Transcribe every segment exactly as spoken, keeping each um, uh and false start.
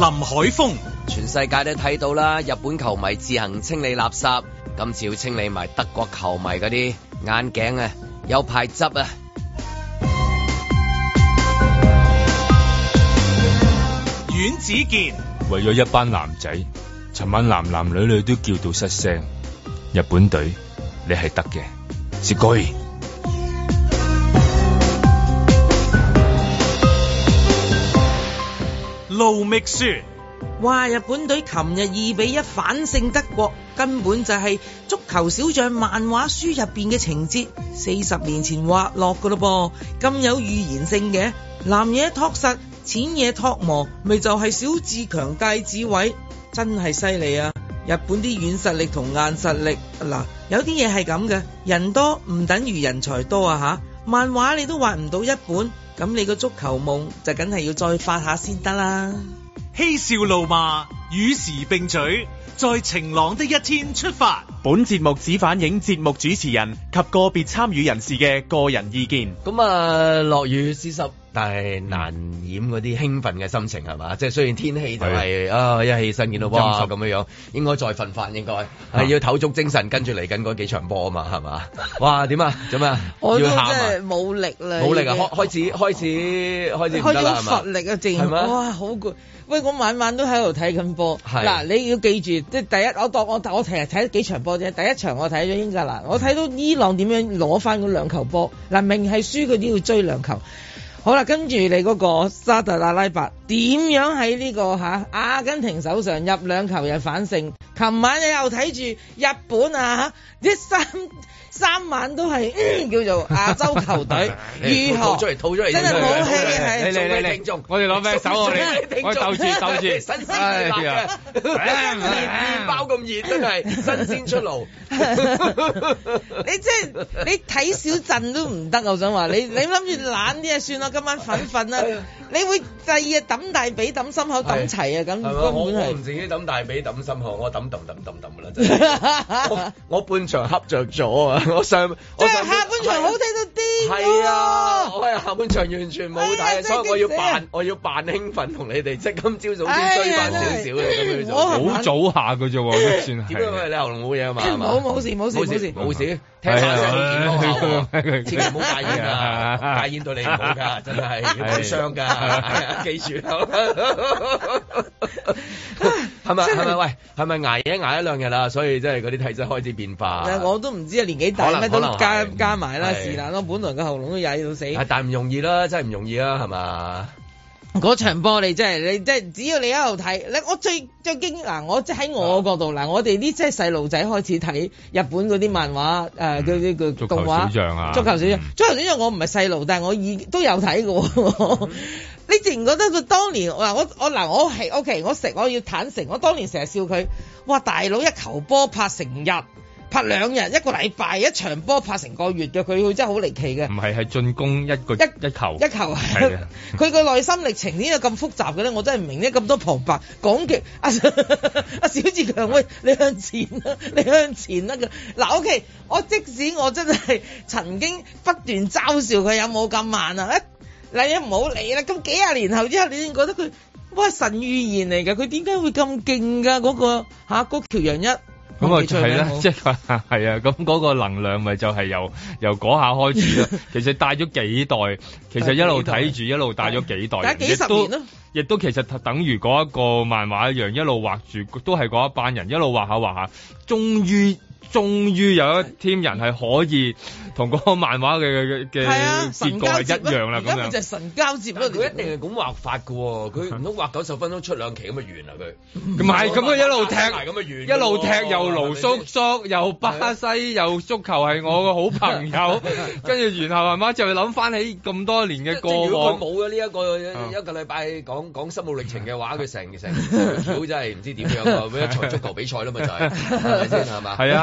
海峰， 全世界都睇到啦，日本球迷自行清理垃圾，今次要清理埋德國球迷嗰啲眼鏡啊，有排執啊！ 阮子健， 為咗一班男仔，尋晚男男女女都叫到失聲。日本隊，你係得嘅，是該。 盧覓雪， 哇！日本隊琴日二比一反勝德國，根本就係足球小將漫畫書入邊嘅情節，四十年前畫落噶咯噃，咁有預言性嘅。南嘢托實，淺嘢托磨，咪就係小志強大智慧，真係犀利啊！日本啲軟實力同硬實力，嗱，有啲嘢係咁嘅，人多唔等於人才多啊吓！漫畫你都畫唔到一本，咁你個足球夢就梗係要再發下先得啦。 嬉笑怒罵與時並舉，在晴朗的一天出發。本節目只反映節目主持人及個別參與人士嘅個人意見。 咁啊，落雨濕濕，但係難掩嗰啲興奮嘅心情係嘛？即係雖然天氣就係、是、啊，一起身見到哇咁樣樣，應該再瞓翻，應該係、啊、要唞足精神，跟住嚟緊嗰幾場波啊嘛，係嘛？哇，點啊？做咩啊？ 我都真要喊啊！ 係冇力啦， 冇力啊！開開始開始開始唔得啦，係嘛？ 乏力啊，正哇好攰。喂，我晚晚都喺度睇緊波。嗱，你要記住，即係第一，我當我我其實睇咗幾場波啫。第一場我睇咗英格蘭，我睇到伊朗點樣攞翻嗰兩球波。嗱，明係輸佢都要追兩球。好啦，跟住你嗰個沙特阿拉伯點樣喺呢、這個嚇、啊、阿根廷手上入兩球又反勝？琴晚你又睇住日本啊嚇，一三三晚都係、嗯、叫做亞洲球隊如何？ 吐出嚟，吐出嚟， 真係冇氣係。 你你你聽眾，我哋攞咩手我哋？我鬥住鬥住， 新鮮熱辣嘅，麵包咁熱，真係新鮮出爐。 你即係你睇小陣都唔得，我想話你，你諗住懶啲啊，算啦，今晚瞓瞓啦。你會第二日揼大髀揼心口揼齊啊，咁根本係。 我唔自己揼大髀揼心口，我揼揼揼揼揼㗎啦，真係。我我半場恰着咗啊！我上即係下半場好睇到啲。 係啊，我係下半場完全冇睇，所以我要扮我要扮興奮同你哋，即係今朝早先追翻少少嘅咁樣就。 好早下㗎啫喎，都算係。 點解你喉嚨冇嘢啊嘛？ 冇冇事冇事冇事冇事。 聽下聲好健康下，千祈唔好戒煙啊！戒煙對你唔好㗎，真係會傷㗎，記住。係咪係咪？喂，係咪捱一捱一兩日啦？所以即係嗰啲體質開始變化。 我都唔知啊，年紀大咩都加加埋啦，是但咯。本來個喉嚨都曳到死。 係，但係唔容易啦，真係唔容易啦，係嘛？ 嗰場波你真係你即係只要你喺度睇，你我最最驚嗱，我即係喺我角度嗱，我哋啲即係細路仔開始睇日本嗰啲漫畫誒，叫啲叫動畫。足球小將啊！足球小將，足球小將我唔係細路，但係我已都有睇過。你自然覺得佢當年嗱我我嗱我係 OK， 我食我要坦誠，我當年成日笑佢，哇大佬一球波拍成日。拍兩日一個禮拜一場波拍成個月嘅佢，佢真係好離奇嘅。唔係係進攻一個一一球一球係啊！佢個內心歷程點解咁複雜嘅咧？我真係唔明咧，咁多旁白講極阿阿小志強，喂你向前啦，你向前啦嘅嗱 OK， 我即使我真係曾經不斷嘲笑佢有冇咁慢啊！一嗱你唔好理啦，咁幾廿年後之後，你先覺得佢哇神預言嚟㗎，佢點解會咁勁㗎？嗰個嚇嗰橋洋一。咁啊，係啦，即係係啊，咁嗰個能量咪就係由由嗰下開始啦。其實帶咗幾代，其實一路睇住一路帶咗幾代，幾十年咯。亦都其實等於嗰一個漫畫一樣，一路畫住都係嗰一班人，一路畫下畫下，終於終於有一 team 人係可以同嗰個漫畫嘅嘅結局係一樣啦。咁樣就係神交接咯。佢一定係咁畫法㗎喎，佢唔通畫九十分鐘出兩期咁就完啦佢？唔係咁佢一路踢，咁完，一路踢又盧叔叔又巴西又足球係我個好朋友，跟住然後係嘛就諗翻起咁多年嘅過往。如果佢冇咗呢一個一個禮拜講講心路歷程嘅話，佢成成條橋真係唔知點樣啊！一場足球比賽啦嘛就係，係咪先係嘛？係啊。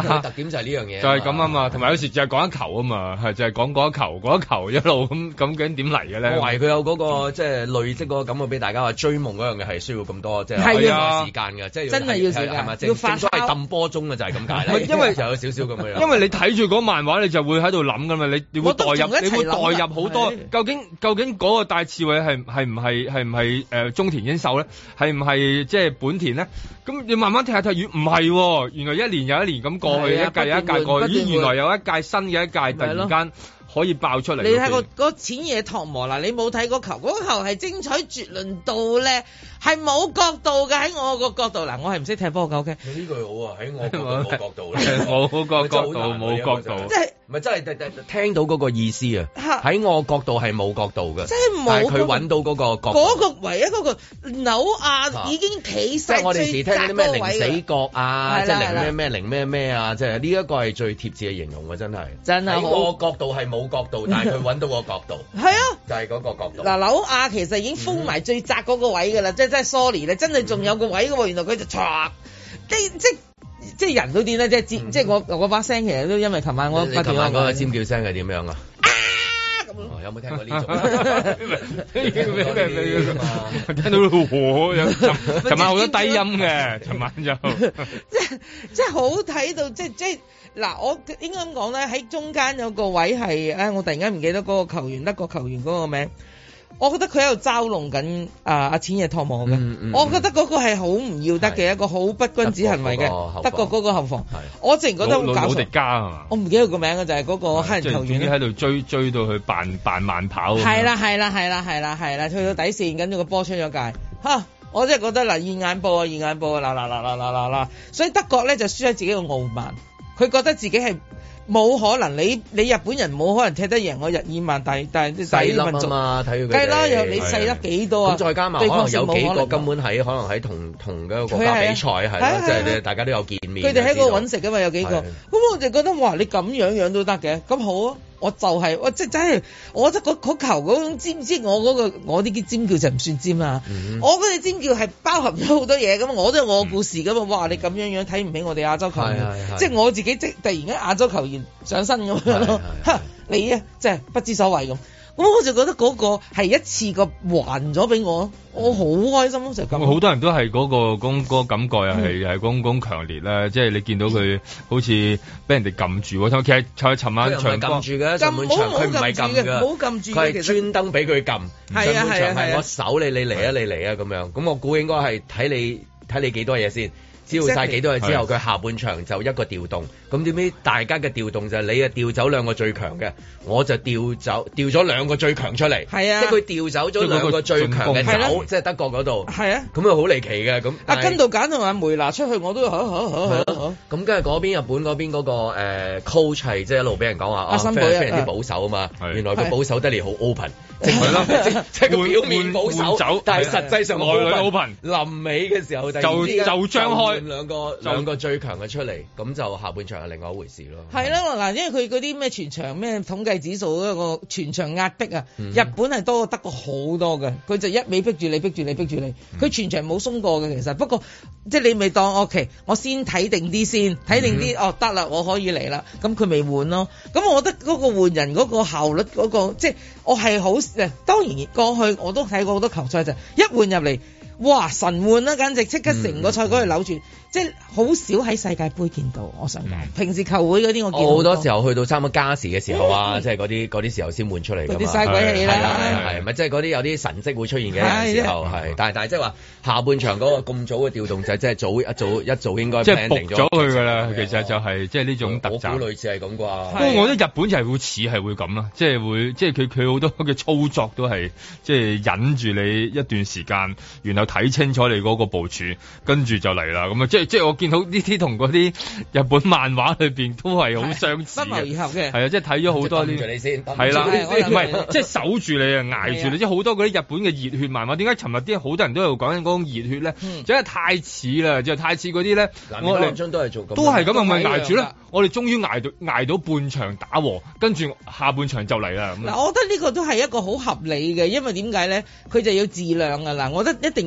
個特點就係呢樣嘢， 就係咁啊嘛。同埋有時就係講一球啊嘛，係就係講嗰一球，嗰一球一路咁咁究竟點嚟嘅咧？ 我懷疑佢有嗰個即係累積嗰個感覺俾大家話追夢嗰樣嘢係需要咁多即係係啊時間嘅，即係真係要時間， 係咪？ 要發正所謂揼波鐘嘅就係咁解啦。 因為就有少少咁樣。 因為你睇住嗰漫畫，你就會喺度諗噶嘛，你你會代入，你會代入好多。究竟究竟嗰個戴志偉係係唔係係唔係誒中田英壽咧？係唔係即係本田咧？咁你慢慢睇下睇，唔係，原來一年又一年咁過去，一屆又一屆過去，咦，原來有一屆新嘅一屆突然間可以爆出嚟。 你睇個嗰淺野拓磨啦，你冇睇嗰球，嗰球係精彩絕倫到咧，係冇角度嘅。喺我個角度嗱，我係唔識踢波嘅。OK， 呢句好啊，喺我角度冇角度咧， 冇個角度冇角度， 即係唔係真係聽到嗰個意思啊？喺我角度係冇角度嘅， 即係冇。 但係佢揾到嗰個角度， 嗰個唯一嗰個紐亞已經企晒。 即係我哋時聽啲咩零死角啊，即係零咩咩零咩咩啊，即係呢一個係最貼切嘅形容嘅，真係。真係喺我角度係冇角度，但係佢揾到個角度。係啊，就係嗰個角度。嗱，紐亞其實已經封埋最窄嗰個位㗎啦，即係即係 sorry 咧，真係仲有個位㗎喎，原來佢就唰，即即。即係人都癲啦，即係尖，即係我我把聲其實都因為琴晚我你琴晚嗰個尖叫聲係點樣啊？ 啊咁樣， 有冇聽過呢種？ 聽到我有琴晚好多低音嘅，琴晚就即係即係好睇到，即係即係嗱，我應該咁講咧，喺中間有個位係，唉，我突然間唔記得嗰個球員，德國球員嗰個名。我覺得佢喺度嘲弄緊啊阿淺野拓磨嘅，嗯嗯、我覺得嗰個係好唔要得嘅一個好不君子行為嘅，德國嗰個後防，我自然覺得好搞笑。魯迪加係嘛？我唔記得個名嘅就係、是、嗰個黑人球員。 總之喺度追追到佢扮扮慢跑。 係啦係啦係啦係啦係啦，去到底線，跟住個波出咗界，嚇！我真係覺得嗱，現眼報啊現眼報啊，嗱嗱嗱嗱嗱嗱嗱，所以德國咧就輸喺自己個傲慢，佢覺得自己係。冇可能，你你日本人冇可能踢得贏我日耳曼，但但細粒啊嘛，睇佢計啦，又你細粒幾多啊？ 咁再加埋可能有幾個根本喺可能喺同同一個國家比賽係咯，即係大家都有見面。 佢哋喺嗰度揾食噶嘛，有幾個。咁我就覺得哇，你咁樣樣都得嘅，咁好啊！我就係、是、我即係真係，我覺得嗰球嗰種尖尖，我嗰、那個我啲尖叫就唔算尖啦。嗯、我嗰隻尖叫係包含咗好多嘢咁，我都有我故事噶嘛。哇！你咁樣樣睇唔起我哋亞洲球員，即係我自己即突然間亞洲球員上身咁樣咯。嚇你啊，即係不知所謂咁。咁我就覺得嗰個係一次過還咗俾我，我好開心咯，就咁。 好多人都係嗰、那個嗰、那個感覺又係又係嗰種強烈啦，即係你見到佢好似俾人哋撳住，其實就係尋晚場撳住嘅，上半場佢唔係撳嘅， 冇撳住， 佢係專登俾佢撳。 係啊係啊係我守你，你嚟啊你嚟啊咁樣。咁我估應該係睇你睇你幾多嘢先。知道晒幾多日之後，佢下半場就一個調動。咁點知大家嘅調動就係你啊調走兩個最強嘅，我就調走調咗兩個最強出嚟。係啊，即係佢調走咗兩個最強嘅走，即係德國嗰度。係啊，咁啊好離奇嘅咁。 阿根道簡同阿梅拿出去，我都嚇嚇嚇嚇。 咁跟住嗰邊日本嗰邊嗰個誒 coach 係即係一路俾人講話啊，非常之保守啊嘛。原來佢保守得嚟好 open。係咯，即係佢表面保守，但係實際上內裏 open。 臨尾嘅時候就就就張開兩個兩個最強嘅出嚟，咁就下半場係另外一回事咯。 係啦，嗱，因為佢嗰啲咩全場咩統計指數嗰個全場壓迫啊，日本係多過德國好多嘅，佢就一味逼住你，逼住你，逼住你，佢全場冇鬆過嘅其實。不過即係你咪當 OK，我先睇定啲先，睇定啲哦得啦，我可以嚟啦。咁佢未換咯，咁我覺得嗰個換人嗰個效率嗰個，即係我係好。誒，當然過去我都睇過好多球賽就一換入嚟，哇神換啦，簡直即刻成個賽果去扭轉。嗯即係好少喺世界盃見到，我想講。平時球會嗰啲我見好多時候去到差唔多加時嘅時候啊，即係嗰啲嗰啲時候先換出嚟㗎嘛。 啲嘥鬼氣啦， 係咪即係嗰啲有啲神跡會出現嘅時候係？但係但係即係話下半場嗰個咁早嘅調動就即係早一早一早應該即係佈咗佢㗎啦。其實就係即係呢種特質。 我估類似係咁啩。 不過我覺得日本就係會似係會咁啦，即係會即係佢佢好多嘅操作都係即係忍住你一段時間，然後睇清楚你嗰個部署，跟住就嚟啦。咁啊即係即係我見到呢啲同嗰啲日本漫畫裏邊都係好相似嘅，不謀而合嘅。係啊，即係睇咗好多啲。你先係啦，唔係即係守住你啊，捱住你。即係好多嗰啲日本嘅熱血漫畫，點解尋日啲好多人都喺度講緊嗰種熱血咧？真係太似啦，就太似嗰啲咧。我哋都係做咁， 都係咁啊，咪捱住咧。我哋終於捱到捱到半場打和，跟住下半場就嚟啦。 嗱，我覺得呢個都係一個好合理嘅，因為點解咧？佢就要自量啊！嗱，我覺得一定要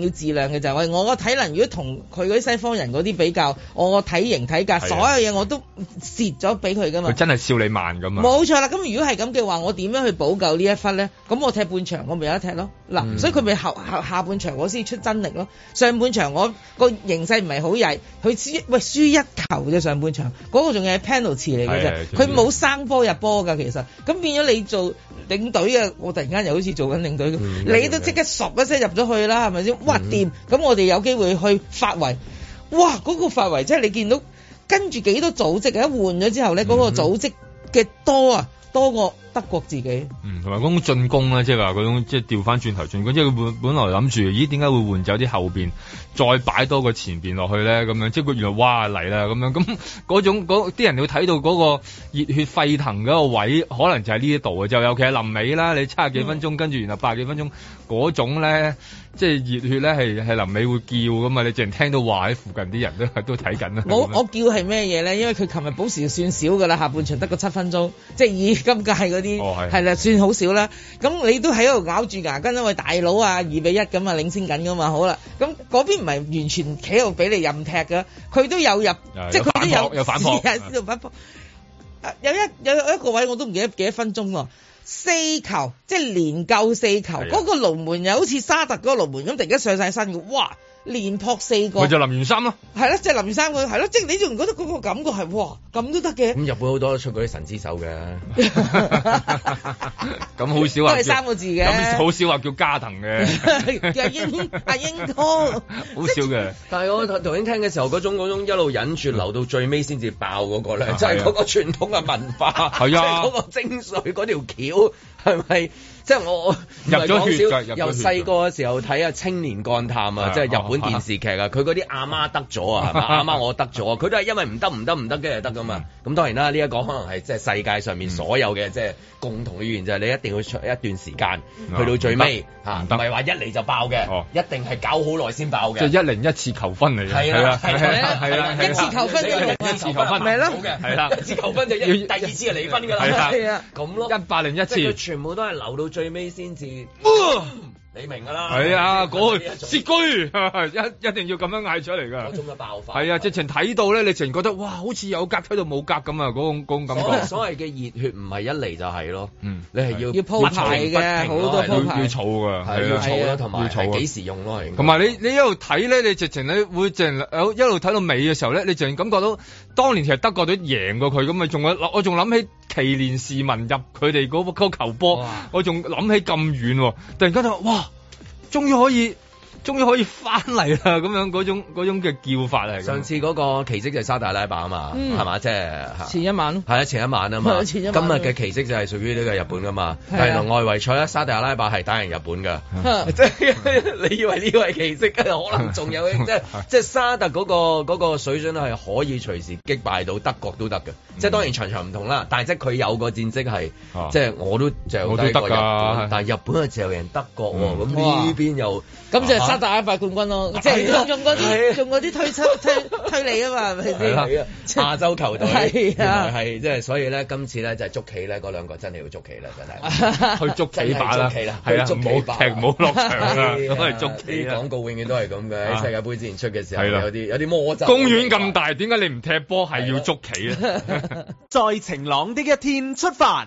自量嘅就係、是、我個體能如果同佢嗰啲西方人嗰啲比較，我個體型體格所有嘢我都蝕咗俾佢噶嘛。 佢真係笑你慢咁啊！ 冇錯啦，咁如果係咁嘅話，我點樣去補救呢一忽咧？咁我踢半場我咪有得踢咯。嗱、嗯，所以佢咪後下下半場我先出真力咯。上半場我個形勢唔係好曳，佢輸喂輸一球啫。上半場嗰、那個仲係 penalty 嚟嘅啫，佢冇生波入波㗎其實。咁變咗你做領隊嘅，我突然間又好似做緊領隊咁、嗯，你都即刻十一聲入咗去啦，係咪先？哇掂！咁、嗯、我哋有機會去發圍，哇嗰、那個發圍即係你見到跟住幾多組織，一換咗之後咧，嗰、那個組織嘅多啊，多過德國自己。嗯， 同埋嗰種進攻咧，即係話嗰種即係調翻轉頭進攻，即係佢本本來諗住，咦點解會換走啲後邊，再擺多個前邊落去咧？咁樣即係佢原來哇嚟啦咁樣，咁嗰種嗰啲人會睇到嗰個熱血沸騰嗰個位，可能就係呢一度嘅，就尤其係臨尾啦，你七十幾分鐘、嗯、跟住然後八十幾分鐘嗰種咧，即係熱血咧係係臨尾會叫噶嘛，你淨係聽到話喺附近啲人都都睇緊啦。 我我叫係咩嘢咧？因為佢琴日補時算少噶啦，下半場得個七分鐘，即係以今屆嗰啲係啦，算好少啦。咁你都喺度咬住牙根，因為大佬啊二比一咁啊領先緊噶嘛，好啦，咁嗰邊唔係完全企喺度俾你任踢㗎，佢都有入，即係佢都有有反撲， 有反撲。有一有一個位我都唔記得幾多分鐘喎，四球即係連救四球，嗰、嗰個龍門又好似沙特嗰個龍門咁，突然間上晒身嘅，哇！連撲四個， 咪就林源三咯， 係咯，即係林源三個，係咯，即係你仲覺得嗰個感覺係哇咁都得嘅。咁日本好多都出嗰啲神之手嘅， 咁好少話都係三個字嘅， 咁好少話叫加藤嘅， 叫阿英阿英哥， 好少嘅。 但係我頭先聽嘅時候，嗰種嗰種一路忍住留到最尾先至爆嗰個咧，就係嗰個傳統嘅文化，係啊，嗰個精髓嗰條橋係咪？即係我入咗血，由細個嘅時候睇啊青年幹探啊，即係日本電視劇啊，佢嗰啲阿媽得咗啊，係嘛？阿媽我得咗，佢都係因為唔得唔得唔得嘅就得噶嘛。咁當然啦，呢一個可能係即係世界上面所有嘅即係共同嘅語言，就係你一定要出一段時間去到最尾嚇，唔係話一嚟就爆嘅，一定係搞好耐先爆嘅。即係一零一次求婚嚟嘅，係啊係啊係啊， 一次求婚一次求婚咪咯，係啦， 一次求婚就要第二次就離婚㗎啦，係啊，咁咯， 一百零一次， 佢全部都係留到最尾先至。你明㗎啦， 係啊，嗰個薛居一一定要咁樣嗌出嚟㗎， 嗰種嘅爆發， 係啊，直情睇到咧，你直情覺得哇，好似有格睇到冇格咁啊，嗰種嗰種感覺。 所謂嘅熱血唔係一嚟就係咯，嗯，你係要要鋪排嘅，好多鋪排， 要儲㗎， 係要儲啦，同埋係幾時用咯， 同埋你你一路睇咧，你直情你會淨有一路睇到尾嘅時候咧，你淨感覺到當年其實德國隊贏過佢咁啊，仲有我仲諗起奇連士文入佢哋嗰個球波，我仲諗起咁遠，突然間就哇！終於可以，終於可以翻嚟啦！咁樣嗰種嗰種嘅叫法嚟。 上次嗰個奇蹟就係沙特阿拉伯啊嘛，係、嗯、嘛？即係前一晚咯。係啊，前一晚啊嘛。前一晚。今日嘅奇蹟就係屬於呢個日本噶嘛。係啊。外圍賽咧，沙特阿拉伯係打贏日本噶。即係你以為呢個係奇蹟，可能仲有即係即係沙特嗰、嗰個嗰個水準係可以隨時擊敗到德國都得嘅。即係當然場場唔同啦，但係即係佢有個戰績係，即係我都就低過日本，但係日本係就贏德國喎，咁呢邊又咁就係沙特阿拉伯冠軍咯，即係用嗰啲用嗰啲推出推推理啊嘛，係咪先？ 亞洲球隊係啊， 係即係所以咧，今次咧就係捉棋咧，嗰兩個真係要捉棋啦，真係去捉棋把啦，係啊， 冇踢冇落場啦，咁係捉棋啦。廣告永遠都係咁嘅，喺世界盃之前出嘅時候有啲有啲魔咒。 公園咁大，點解你唔踢波係要捉棋咧？ 在晴朗的一天出發。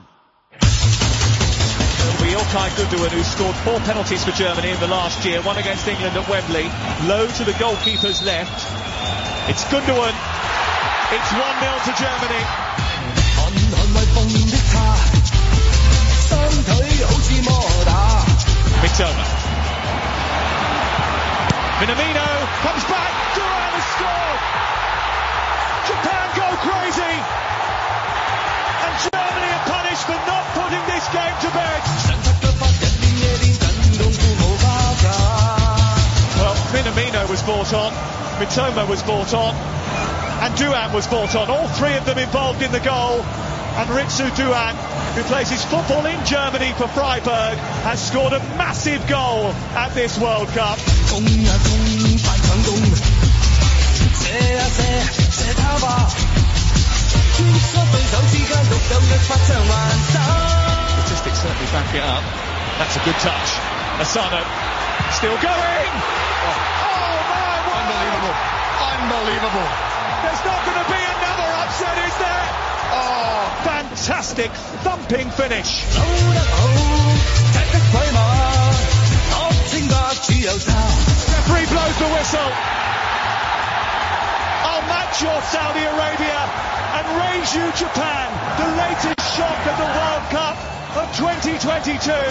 Ilkay Gundogan, who scored four penalties for Germany in the last year, one against England at Wembley, low to the goalkeeper's left. It's Gundogan. It's one nil to Germany. Mitoma. Minamino comes back. Duran has scored. Japan go crazy. And Germany are punished for not putting this game to bed. Well, Minamino was brought on, Mitoma was brought on, and Duan was brought on. All three of them involved in the goal. And Ritsu Duan, who plays his football in Germany for Freiburg, has scored a massive goal at this World Cup. Statistics certainly back it up. That's a good touch. Asano still going. Oh, my word! Unbelievable. Unbelievable. There's not going to be another upset, is there? Oh, fantastic thumping finish. Referee blows the whistle. I'll match your Saudi Arabia and raise you Japan, the latest shock at the World Cup of twenty twenty-two.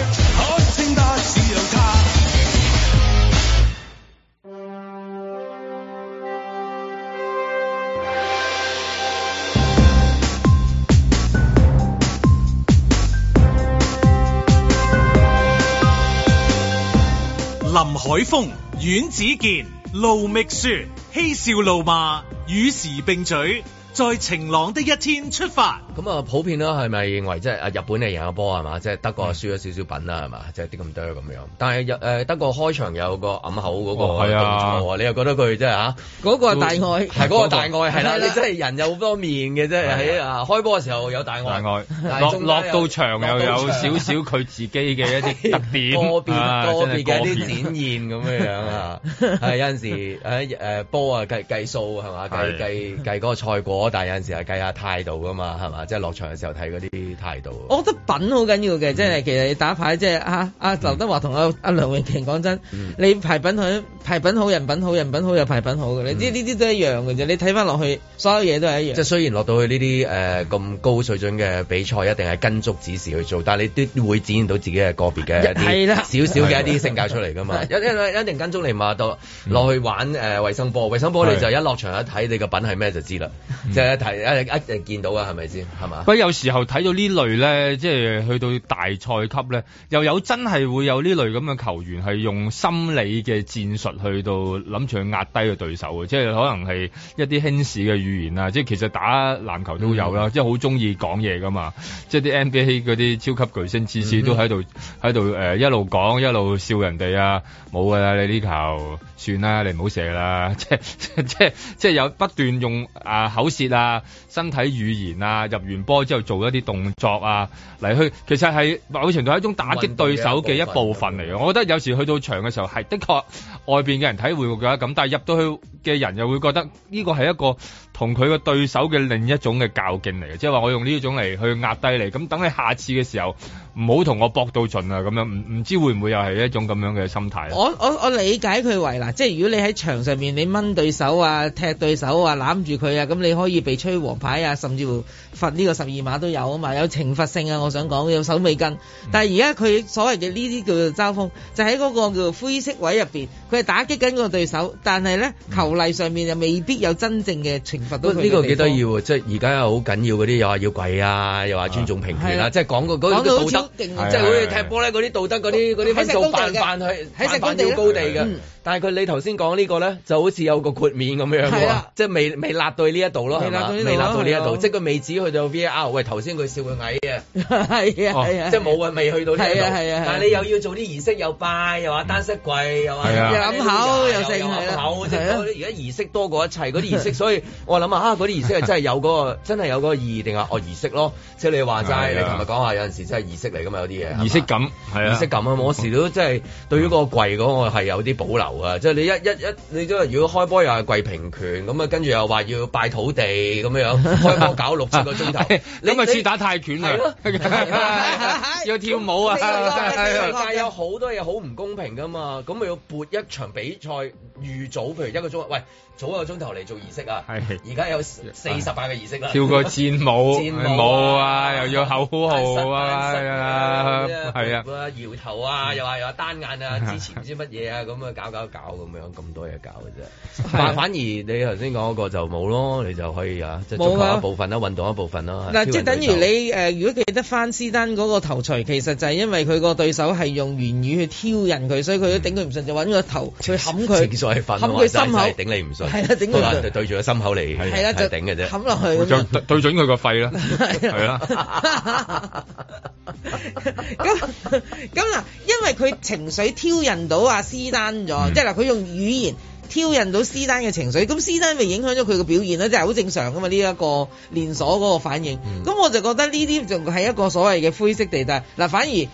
林海峰、阮子健、盧覓雪，嬉笑怒罵，與時並舉，在晴朗的一天出發。 咁啊，普遍啦，係咪認為即係啊日本嚟贏咗波係嘛？即係德國輸咗少少品啦係嘛？即係啲咁多咁樣。但係日誒德國開場有個揞口嗰個動作，你又覺得佢即係嚇嗰個係大愛， 係嗰個大愛係啦。你真係人有好多面嘅啫，喺啊開波嘅時候有大愛，大愛落落到場又有少少佢自己嘅一啲特點， 個別個別嘅一啲展現咁樣樣啊。係有陣時喺誒波啊計計數係嘛？計計計嗰個賽果，但係有陣時係計下態度噶嘛係嘛？即係落場嘅時候睇嗰啲態度。 我覺得品好緊要嘅，即係其實你打牌即係啊啊劉德華同阿阿梁詠琪講真，嗯、你牌品好牌品好人品好人品好又牌品好嘅，你知呢啲都一樣嘅啫。你睇翻落去，所有嘢都係一樣。即係雖然落到去呢啲誒咁高水準嘅比賽，一定係跟足指示去做，但係你都會展現到自己嘅個別嘅一啲少少嘅一啲性格出嚟㗎嘛。一一一定跟足你嘛，到落去玩誒衛、呃、生波，衛生波你就一落場一睇你個品係咩就知啦，即係、嗯、一睇一一定見到㗎，係咪先？係嘛？ 不過有時候睇到呢類咧，即係去到大賽級咧，又有真係會有呢類咁嘅球員係用心理嘅戰術去到諗住去壓低個對手嘅，即係可能係一啲輕視嘅語言啊，即係其實打籃球都有啦，嗯、即係好中意講嘢噶嘛，即係啲 N B A 嗰啲超級巨星次次都喺度喺度誒一路講一路笑人哋啊，冇噶啦，你呢球算啦，你唔好射啦，即係即係即係有不斷用啊口舌啊、身體語言啊，入完波之後做一啲動作啊嚟去，其實係某程度係一種打擊對手嘅一部分嚟嘅。我覺得有時去到場嘅時候係的確外邊嘅人睇會覺得咁，但係入到去嘅人又會覺得呢個係一個同佢個對手嘅另一種嘅較勁嚟嘅，即係話我用呢種嚟去壓低你，咁等你下次嘅時候唔好同我搏到盡啊咁樣，唔唔知會唔會又係一種咁樣嘅心態？ 我我我理解佢為嗱，即係如果你喺場上面你掹對手啊、踢對手啊、攬住佢啊，咁你可以被吹黃牌啊，甚至乎罰呢個十二碼都有啊嘛，有懲罰性啊，我想講有手尾跟。但係而家佢所謂嘅呢啲叫做交鋒，就喺嗰個叫做灰色位入邊，佢係打擊緊個對手，但係咧球例上面又未必有真正嘅懲罰到佢。 呢個幾得意喎，即係而家又好緊要嗰啲，又話要跪啊，又話尊重平權啊，即係講個嗰啲道德，即係好似踢波咧嗰啲道德嗰啲嗰啲分數扮扮去喺扮要高地嘅。但係佢你頭先講呢個咧，就好似有個豁免咁樣喎，即係未未辣到呢一度咯，係嘛？未辣到呢一度，即係佢未止去到 V A R。喂，頭先佢笑佢矮嘅， 係啊係啊， 即係冇啊，未去到呢一度。 係啊， 但係你又要做啲儀式，又拜，又話單膝跪，又話又揞口，又剩揞口，即係而家儀式多過一切嗰啲儀式，所以我諗下啊，嗰啲儀式係真係有嗰個真係有嗰個意義定係哦儀式咯？即係你話齋，你琴日講話有陣時真係儀式嚟㗎嘛，有啲嘢儀式感係啊， 儀式感啊！我時都真係對於個跪嗰個係有啲保留啊！即係你一一一你都如果開波又係跪平權咁啊，跟住又話要拜土地咁樣樣，開波搞六七個鐘頭， 咁咪似打泰拳啊！要跳舞啊！ 世界有好多嘢好唔公平㗎嘛，咁咪要撥一場比賽預早，譬如一個鐘，喂。早一個鐘頭嚟做儀式啊！而家有四十八個儀式啦， 跳個戰舞、戰舞啊，又要口號啊，係啊，係啊， 搖頭啊，又話又話單眼啊，之前唔知乜嘢啊，咁啊搞搞搞咁樣，咁多嘢搞嘅啫。但反而你頭先講嗰個就冇咯，你就可以啊，即係足球一部分啦，運動一部分啦。 嗱，即係等於你誒，如果記得翻施丹嗰個頭錘，其實就係因為佢個對手係用言語去挑釁佢，所以佢都頂佢唔順，就揾個頭去冚佢，冚佢心口， 頂你唔順。係啊，頂佢對對住個心口嚟，係啦，就頂嘅啫， 冚落去， 就對準佢個肺啦，係啦。 咁咁嗱，因為佢情緒挑釁到阿施丹咗，即係嗱，佢用語言挑釁到施丹嘅情緒，咁施丹咪影響咗佢嘅表現咧，即係好正常噶嘛，呢一個連鎖嗰個反應。咁我就覺得呢啲仲係一個所謂嘅灰色地帶。嗱，反而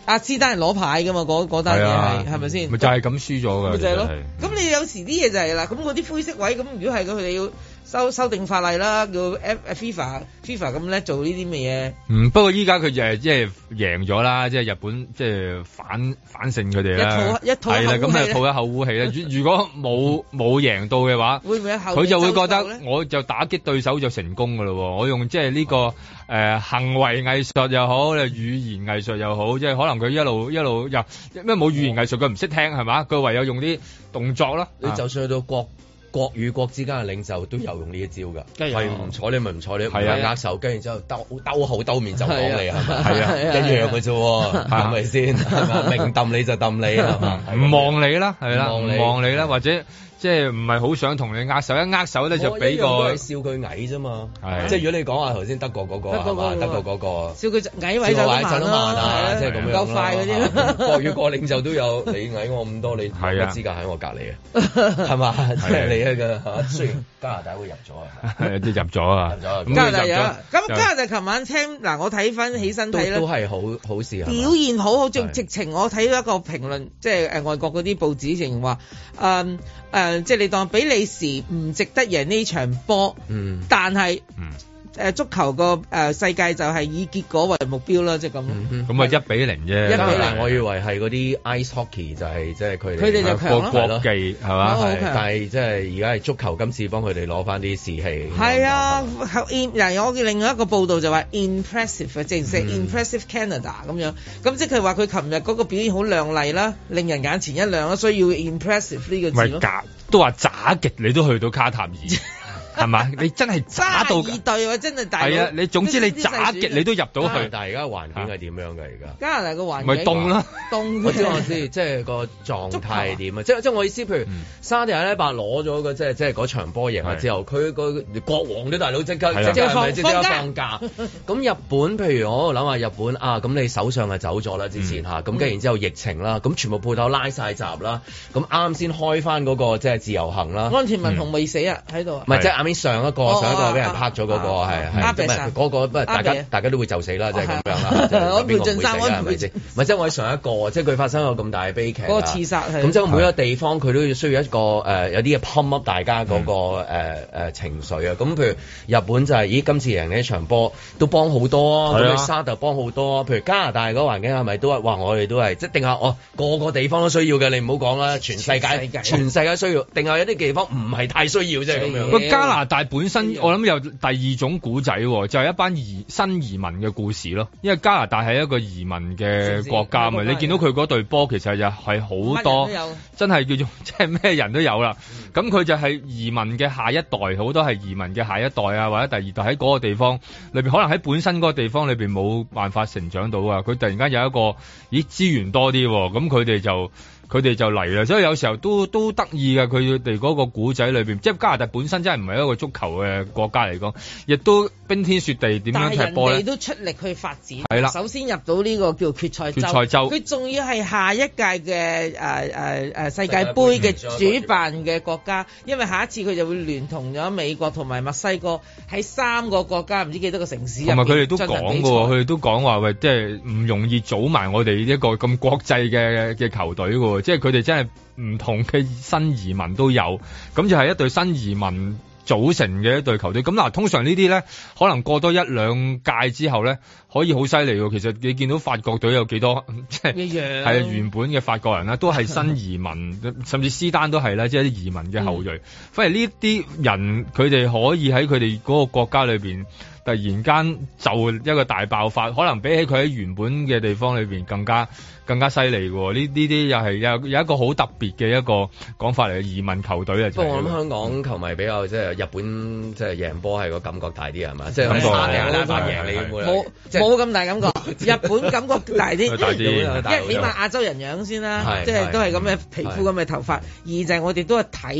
阿斯丹係攞牌㗎嘛，嗰嗰單嘢係係咪先？ 咪就係咁輸咗㗎。咪就係咯。咁你有時啲嘢就係啦，咁嗰啲灰色位，咁如果係佢哋要修修訂法例啦，叫 FIFA FIFA 咁叻做呢啲咩嘢？ 嗯，不過依家佢就係即係贏咗啦，即係日本即係反反勝佢哋啦。一套一套係啦，咁啊吐一口污氣啦。如果冇冇贏到嘅話， 會唔會佢就會覺得我就打擊對手就成功㗎咯。我用即係呢個誒、呃、行為藝術又好，語言藝術又好，即係可能佢一路一路又咩冇語言藝術，佢唔識聽係嘛？佢唯有用啲動作啦。 你就算去到國。國與國之間嘅領袖都有用呢一招㗎，係唔睬你咪唔睬你，係啊握手，跟住之後兜兜口兜面就講你係咪？係啊，一樣嘅啫，係咪先？係嘛，明揼你就揼你係嘛， 唔望你啦，係啦，唔望你啦，或者。即係唔係好想同你握手，一握手咧就俾個。 我一樣都係笑佢矮啫嘛。係。即係如果你講話頭先德國嗰個係嘛？德國嗰個。 笑佢矮位就慢啦。 即係咁樣。 夠快嗰啲。 國與國領袖都有你矮我咁多，你冇乜資格喺我隔離啊？係嘛？即係你一個嚇。雖然加拿大會入咗啊。係都入咗啊。入咗。 加拿大有。咁加拿大琴晚聽嗱，我睇翻起身睇咧。 都係好好事。 表現好好，直直情我睇到一個評論，即係誒外國嗰啲報紙成話誒。誒、呃，即係你當比利時唔值得贏呢場波，嗯，但係，嗯，誒、呃，足球個誒、呃、世界就係以結果為目標啦，即係咁。 咁啊，一比零啫。一比零， 我以為係嗰啲 ice hockey 就係即係佢哋。 佢哋就強咯。 國技係嘛？ 係，但係即係而家係足球今次幫佢哋攞翻啲士氣。 係啊，嗱，我見另外一個報道就話 impressive，正式 impressive Canada 咁樣。咁即係佢話佢琴日嗰個表現好亮麗啦，令人眼前一亮啦，所以要 impressive 呢個字咯。 都話渣極你都去到卡塔爾。係嘛？你真係渣到二隊喎，真係大。 係啊，你總之你渣極你都入到去。 但係而家環境係點樣㗎？而家加拿大個環境咪凍啦， 凍。 我知我知，即係個狀態係點啊？即係即係我意思，譬如沙地阿拉伯攞咗個即係即係嗰場波贏咗之後，佢個國王啲大佬即刻即刻係咪即刻放假？咁日本譬如我諗下日本啊，咁你首相係走咗啦之前嚇，咁跟住然之後疫情啦，咁全部鋪頭拉晒閘啦，咁啱先開翻嗰個即係自由行啦。 安田文雄未死啊喺度。 唔係即係啱啱上一個。上一個俾人拍咗嗰個係係，咁啊嗰個不過大家大家都會就死啦，即係咁樣啦。安倍晉三，安倍晉三，唔係即係我上一個，即係佢發生咗咁大嘅悲劇。 嗰個刺殺係。 咁即係每一個地方佢都要需要一個誒有啲嘢 pump up 大家嗰個誒誒情緒啊。咁譬如日本就係咦今次贏呢場波都幫好多啊，咁沙特幫好多啊。譬如加拿大嗰個環境係咪都係哇？我哋都係即係定下我個個地方都需要嘅，你唔好講啦，全世界全世界需要，定係有啲地方唔係太需要啫咁樣。 個加拿大本身我諗有第二種古仔，就係、是、一班移新移民嘅故事咯。因為加拿大係一個移民嘅國家嘛，你見到佢嗰隊波其實就係好多，真係叫做即係咩人都有啦。咁佢、嗯、就係移民嘅下一代，好多係移民嘅下一代啊，或者第二代喺嗰個地方裏邊，可能喺本身嗰個地方裏邊冇辦法成長到啊。佢突然間有一個咦資源多啲，咁佢哋就。佢哋就嚟啦，所以有時候都都得意嘅。佢哋嗰個古仔裏邊，即係加拿大本身真係唔係一個足球嘅國家嚟講，亦都冰天雪地點樣踢波咧？但係人哋都出力去發展。係啦，首先入到呢個叫決賽周，決賽周佢仲要係下一屆嘅誒誒誒世界盃嘅主辦嘅國家，因為下一次佢就會聯同咗美國同埋墨西哥喺三個國家唔知幾多個城市入邊。同埋佢哋都講嘅喎，佢哋都講話喂，即係唔容易組埋我哋一個咁國際嘅嘅球隊嘅喎。即係佢哋真係唔同嘅新移民都有，咁就係一隊新移民組成嘅一隊球隊。咁嗱，通常呢啲咧，可能過多一兩屆之後咧，可以好犀利喎。其實你見到法國隊有幾多，即係係原本嘅法國人啦，都係新移民，甚至斯丹都係啦，即係啲移民嘅後裔。嗯、反而呢啲人，佢哋可以喺佢哋嗰個國家裏邊。突然間就一個大爆發，可能比起佢喺原本嘅地方裏邊更加更加犀利喎。呢呢啲又係有有一個好特別嘅一個講法嚟嘅移民球隊啊。不過我諗香港球迷比較即係日本即係贏波係個感覺大啲係嘛？即係沙地阿拉伯贏你冇冇咁大感覺？日本感覺大啲，大啲，因為起碼亞洲人樣先啦，即係都係咁嘅皮膚咁嘅頭髮。二就係我哋都係睇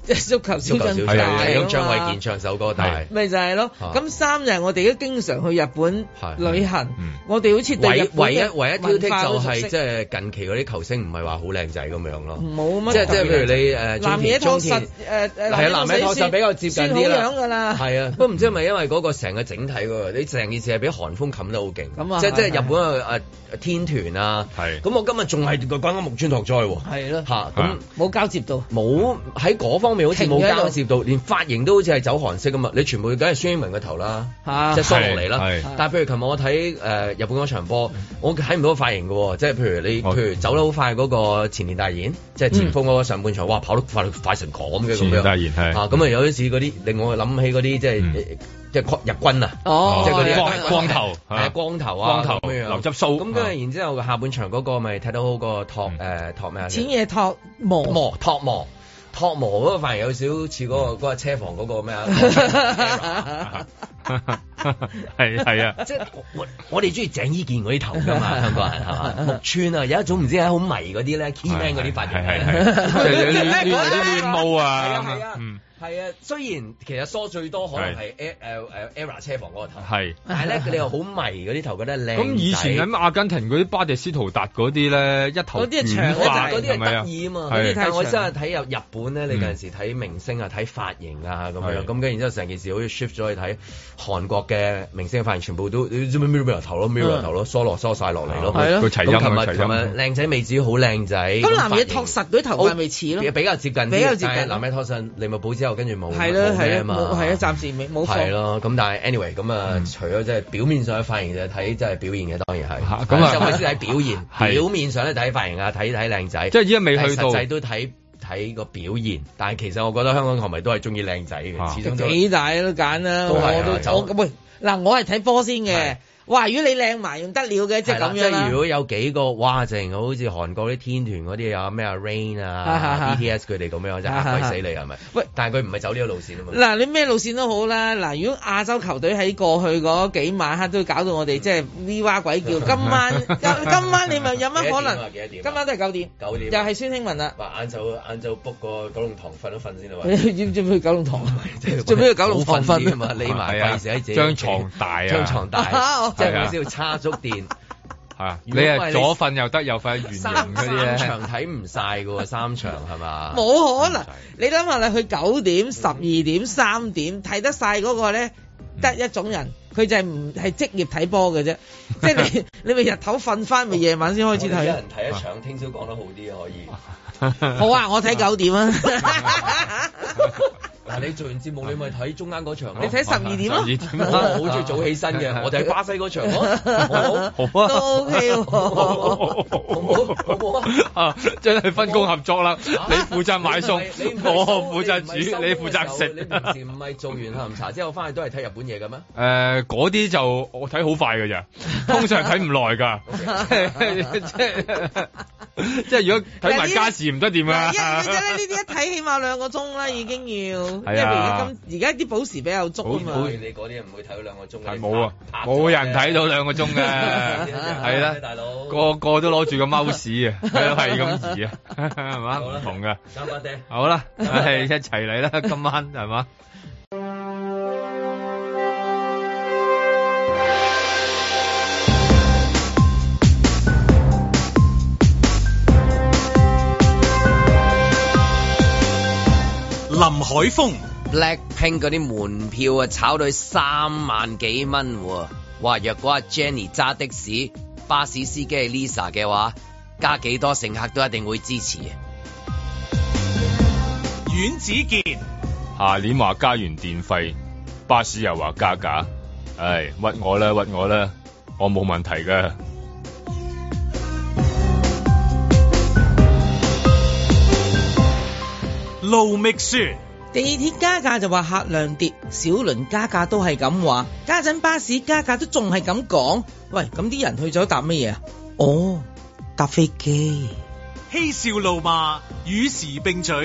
即係足球小將大啊嘛， 張衛健唱首歌大， 咪就係咯。咁三就係我哋都經常去日本旅行，我哋好似對日本唯一唯一挑剔就係即係近期嗰啲球星唔係話好靚仔咁樣咯， 冇乜。 即係即係譬如你誒南野拓實誒誒， 係啊，南野拓實比較接近啲啦， 係啊，不過唔知係咪因為嗰個成個整體喎，你成件事係俾韓風冚得好勁， 咁啊， 即係即係日本嘅誒天團啊，係。咁我今日仲係個關緊木村拓哉喎，係咯嚇，咁冇交接到，冇喺嗰方面好似冇交接到，連髮型都好似係走韓式咁嘛，你全部梗係孫興慜個頭啦，即係梳落嚟啦。但係譬如琴日我睇誒日本嗰場波，我睇唔到個髮型嘅喎，即係譬如你譬如走得好快嗰個前田大然，即係前鋒嗰個上半場，哇跑得快快成咁嘅咁樣，前田大然係啊，咁啊有啲似嗰啲令我諗起嗰啲即係即係日軍啊，即係嗰啲光光頭係光頭啊， 光頭留執鬚。咁跟住然之後下半場嗰個咪睇到好個托誒托咩啊？ 淺野拓磨磨托磨。托磨嗰個反而有少少似嗰個嗰個車房嗰個咩啊？ 係係啊！ 即係我我哋中意鄭伊健嗰啲頭㗎嘛，香港人係嘛？木村啊，有一種唔知係好迷嗰啲咧 key man 嗰啲髮型，係係係， 有啲亂啲亂毛啊， 係啊，嗯。係啊，雖然其實梳最多可能係 e 誒誒 ERA 車房嗰個頭，係，但係咧佢哋又好迷嗰啲頭，覺得靚。咁以前喺阿根廷嗰啲巴迪斯圖達嗰啲咧，一頭嗰啲係長嗰嗰啲係得意啊嘛。但係我真係睇入日本咧，你有陣時睇明星啊，睇髮型啊咁樣，咁跟然之後成件事好似 shift 咗去睇韓國嘅明星嘅髮型，全部都你知唔知 mirror 頭咯 mirror 頭咯，梳落梳晒落嚟咯。 係咯。佢齊音啊齊音。靚仔未至於好靚仔。 咁南野拓實嗰啲頭髮咪似咯？ 比較接近啲。比較接近。南野拓實利物浦之後跟住冇。係咯。係啊，冇係啊，暫時未冇放。係咯，咁但係 anyway 咁啊，除咗即係表面上嘅髮型就睇即係表現嘅，當然係。咁啊，就係先睇表現。表面上咧睇髮型啊，睇睇靚仔。 即係依家未去到。 實際都睇睇個表現，但係其實我覺得香港球迷都係中意靚仔嘅，始終都。 幾大都揀啦，我都我咁喂嗱，我係睇波先嘅。哇！如果你靚埋用得了嘅，即係咁樣。即係如果有幾個哇，淨好似韓國啲天團嗰啲有咩啊 Rain 啊 B T S 佢哋咁樣，真係嚇鬼死你係咪？喂！但係佢唔係走呢個路線啊嘛。嗱，你咩路線都好啦。嗱，如果亞洲球隊喺過去嗰幾晚黑都搞到我哋即係 V 哇鬼叫，今晚今晚你咪有乜可能？今晚都係九點。九點。又係孫興慜啦。話晏晝晏晝 book 個九龍塘瞓都瞓先啦。要唔要去九龍塘？做咩去九龍塘瞓啊嘛？匿埋費事喺自己張床大啊！ 張床大。即係我先要叉足電， 係啊！你係左瞓又得，右瞓圓形嗰啲咧。 三場睇唔晒㗎喎，三場係嘛？ 冇可能！你諗下你去九點、十二點、三點睇得晒嗰個咧，得一種人，佢就係唔係職業睇波嘅啫。即係你你咪日頭瞓翻，咪夜晚先開始睇。 一人睇一場，聽朝講得好啲可以。 好啊，我睇九點啊。 嗱，你做完節目你咪睇中間嗰場咯， 你睇十二點咯， 我好中意早起身嘅，我哋喺巴西嗰場咯，好好啊， 都 OK 喎，好唔好？好唔好啊？真係分工合作啦，你負責買餸，我負責煮，你負責食。 你平時唔係做完下午茶之後翻去都係睇日本嘢嘅咩？ 誒，嗰啲就我睇好快㗎咋，通常睇唔耐㗎，即係即係如果睇埋家事唔得掂啊！ 一呢啲一睇起碼兩個鐘啦，已經要。係啊！而家啲補時比較足啊嘛。 你嗰啲唔會睇到兩個鐘嘅。 係冇啊，冇人睇到兩個鐘嘅。係啦，大佬個個都攞住個 mouse 啊，係係咁移啊，係嘛？唔同㗎。 三八爹。 好啦，係一齊嚟啦，今晚係嘛？ 林海峰 Blackpink 嗰啲門票啊，炒到去三萬幾蚊喎！哇，若果阿 Jenny 揸的士、巴士司機係 Lisa 嘅話，加幾多乘客都一定會支持嘅。 阮子健下年話加完電費，巴士又話加價，唉，屈我啦，屈我啦，我冇問題㗎。 盧覓雪地鐵加價就話客量跌，小輪加價都係咁話，家陣巴士加價都仲係咁講。喂，咁啲人去咗搭乜嘢啊？哦，搭飛機。 嬉笑怒罵與時並舉，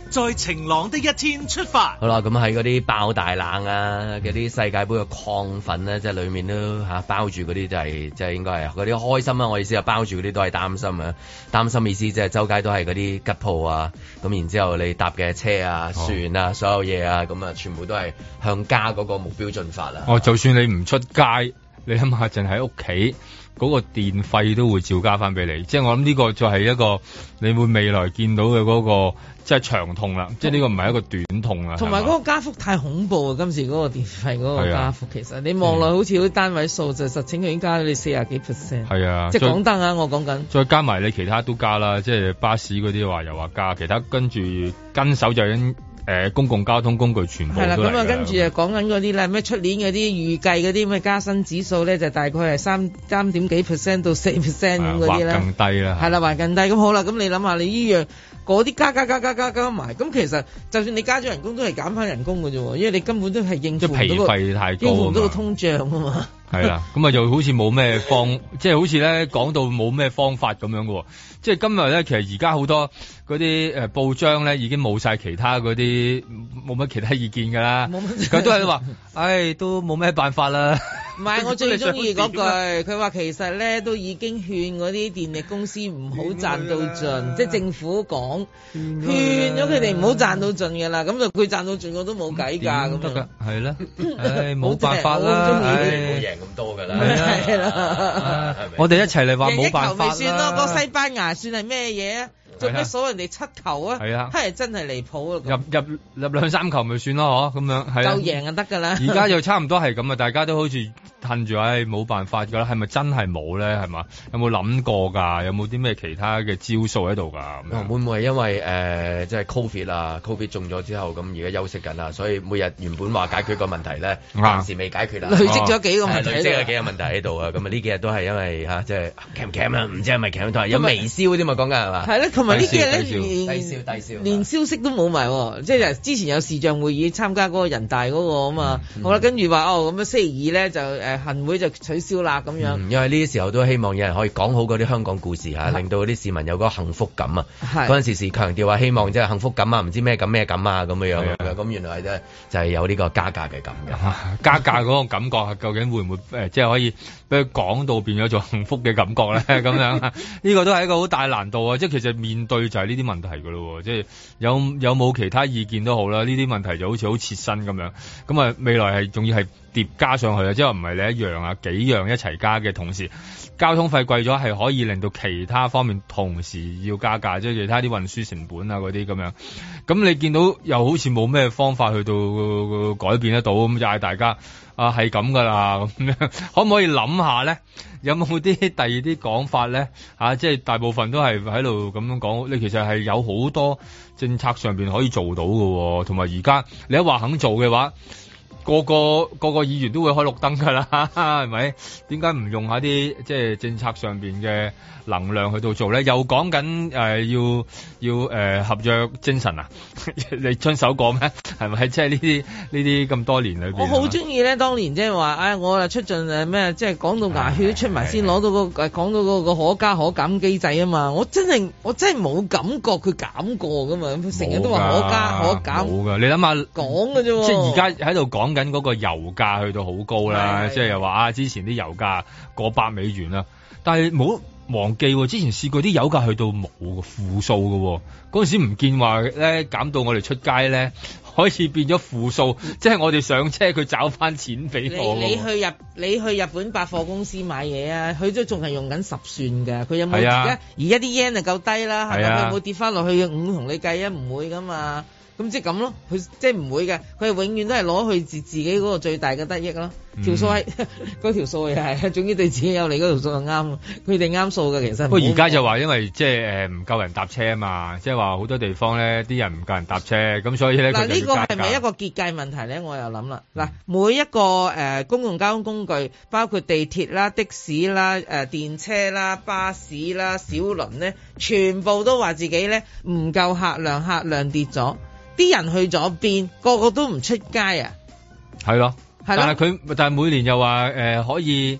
在晴朗的一天出發。 好啦，咁喺嗰啲爆大冷啊，嗰啲世界盃嘅亢奮咧，即係裡面都嚇包住嗰啲就係即係應該係嗰啲開心啊！我意思係包住嗰啲都係擔心啊，擔心意思即係周街都係嗰啲吉鋪啊，咁然之後你搭嘅車啊、船啊、所有嘢啊，咁啊全部都係向家嗰個目標進發啦。 哦，就算你唔出街，你諗下，淨喺屋企。嗰個電費都會照加翻俾你，即係我諗呢個就係一個你會未來見到嘅嗰個即係長痛啦，即係呢個唔係一個短痛啊。 同埋嗰個加幅太恐怖啊！今次嗰個電費嗰個加幅，其實你望落好似啲單位數，就實情佢已經加咗你四十幾 percent。係啊，即係講得啊，我講緊。 再加埋你其他都加啦，即係巴士嗰啲話又話加，其他跟住跟手就已經。誒公共交通工具全部係啦，咁啊跟住就講緊嗰啲啦，咩出年嗰啲預計嗰啲咩加薪指數咧，就大概係三三點幾 percent 到四 percent 咁嗰啲咧，更低啦，係啦，還更低。咁好啦，咁你諗下，你依樣嗰啲加加加加加加埋，咁其實就算你加咗人工，都係減翻人工嘅啫，因為你根本都係應付唔到個皮費太高，應付唔到個通脹啊嘛。係啦，咁啊又好似冇咩方，即係好似咧講到冇咩方法咁樣嘅，即係今日咧，其實而家好多嗰啲誒報章咧已經冇晒其他嗰啲冇乜其他意見㗎啦，佢都係話，唉，都冇咩辦法啦。唔係，我最中意嗰句，佢話其實咧都已經勸嗰啲電力公司唔好賺到盡，即係政府講勸咗佢哋唔好賺到盡㗎啦。咁就佢賺到盡我都冇計㗎，咁得㗎，係啦，唉，冇辦法啦，唉，冇贏咁多㗎啦，係啦，我哋一齊嚟話冇辦法啦，贏一球咪算咯，個西班牙算係咩嘢啊？做咩數人哋七球啊？係啊，係真係離譜啊！入入入兩三球咪算咯，嗬，咁樣係夠贏就得㗎啦。而家又差唔多係咁啊，大家都好似褪住，唉，冇辦法㗎啦。係咪真係冇咧？係嘛？有冇諗過㗎？有冇啲咩其他嘅招數喺度㗎？會唔會係因為誒即係 Covid 啊 ？Covid 中咗之後，咁而家休息緊啊，所以每日原本話解決個問題咧，暫時未解決啦。累積咗幾個問題，累積咗幾個問題喺度啊！咁啊呢幾日都係因為嚇即係鉗唔鉗啊？唔知係咪鉗都係有微燒啲嘛講緊係嘛？係咧，同埋呢幾日咧連低燒低燒，連消息都冇埋，即係之前有視像會議參加嗰個人大嗰個啊嘛。好啦，跟住話哦咁啊星期二咧就誒行會就取消啦咁樣。因為呢啲時候都希望有人可以講好嗰啲香港故事嚇，令到嗰啲市民有嗰個幸福感啊。嗰陣時時強調話希望即係幸福感啊，唔知咩感咩感啊咁樣樣嘅。咁原來係就係有呢個加價嘅感嘅。加價嗰個感覺係究竟會唔會誒即係可以俾佢講到變咗做幸福嘅感覺咧？咁樣呢個都係一個好大難度啊！即係其實面對就係呢啲問題㗎咯，即係有有冇其他意見都好啦。呢啲問題就好似好切身咁樣。咁啊未來係仲要係疊加上去啊，即係唔係你一樣啊幾樣一齊加嘅同時，交通費貴咗係可以令到其他方面同時要加價，即係其他啲運輸成本啊嗰啲咁樣。咁你見到又好似冇咩方法去到改變得到，咁就嗌大家啊係咁噶啦咁樣，可唔可以諗下咧？有冇啲第二啲講法咧？啊，即係大部分都係喺度咁樣講，你其實係有好多政策上邊可以做到嘅，同埋而家你一話肯做嘅話。個個個個議員都會開綠燈㗎啦，係咪？點解唔用下啲即係政策上邊嘅能量去到做咧？又講緊誒要要誒、呃、合約精神啊？你遵守過咩？係咪？即係呢啲呢啲咁多年裏邊，我好中意咧。當年即係話，唉、哎，我啊出盡誒咩？即係講到牙血都出埋先攞到、嗰個誒，講到嗰個可加可減機制啊嘛！我真係我真係冇感覺佢減過㗎嘛，成日都話可加可減。冇㗎，你諗下講㗎啫。即係而家喺度講緊嗰個油價去到好高啦，即係又話啊，之前啲油價過百美元啦，但係冇忘記之前試過啲油價去到冇負數嘅，嗰陣時唔見話咧減到我哋出街咧可以變咗負數，即係我哋上車佢找翻錢俾我。你你去日你去日本百貨公司買嘢啊，佢都仲係用緊十算嘅，佢有冇而家而家啲 yen 就夠低啦，係咪？佢有冇跌翻落去五同你計啊？唔會噶嘛。咁即係咁咯，佢即係唔會嘅，佢係永遠都係攞去自自己嗰個最大嘅得益咯。條數係嗰條數又係，總之對自己有利嗰條數就啱，佢哋啱數嘅其實。不過而家就話因為即係誒唔夠人搭車啊嘛，即係話好多地方咧啲人唔夠人搭車，咁所以咧嗱呢個係咪一個結界問題咧？我又諗啦，嗱、嗯、每一個誒、呃、公共交通工具，包括地鐵啦、的士啦、誒、呃、電車啦、巴士啦、小輪咧，全部都話自己咧唔夠客量，客量跌咗。啲人去咗邊，個個都唔出街啊！係咯，係咯。但係佢，但係每年又話誒、呃、可以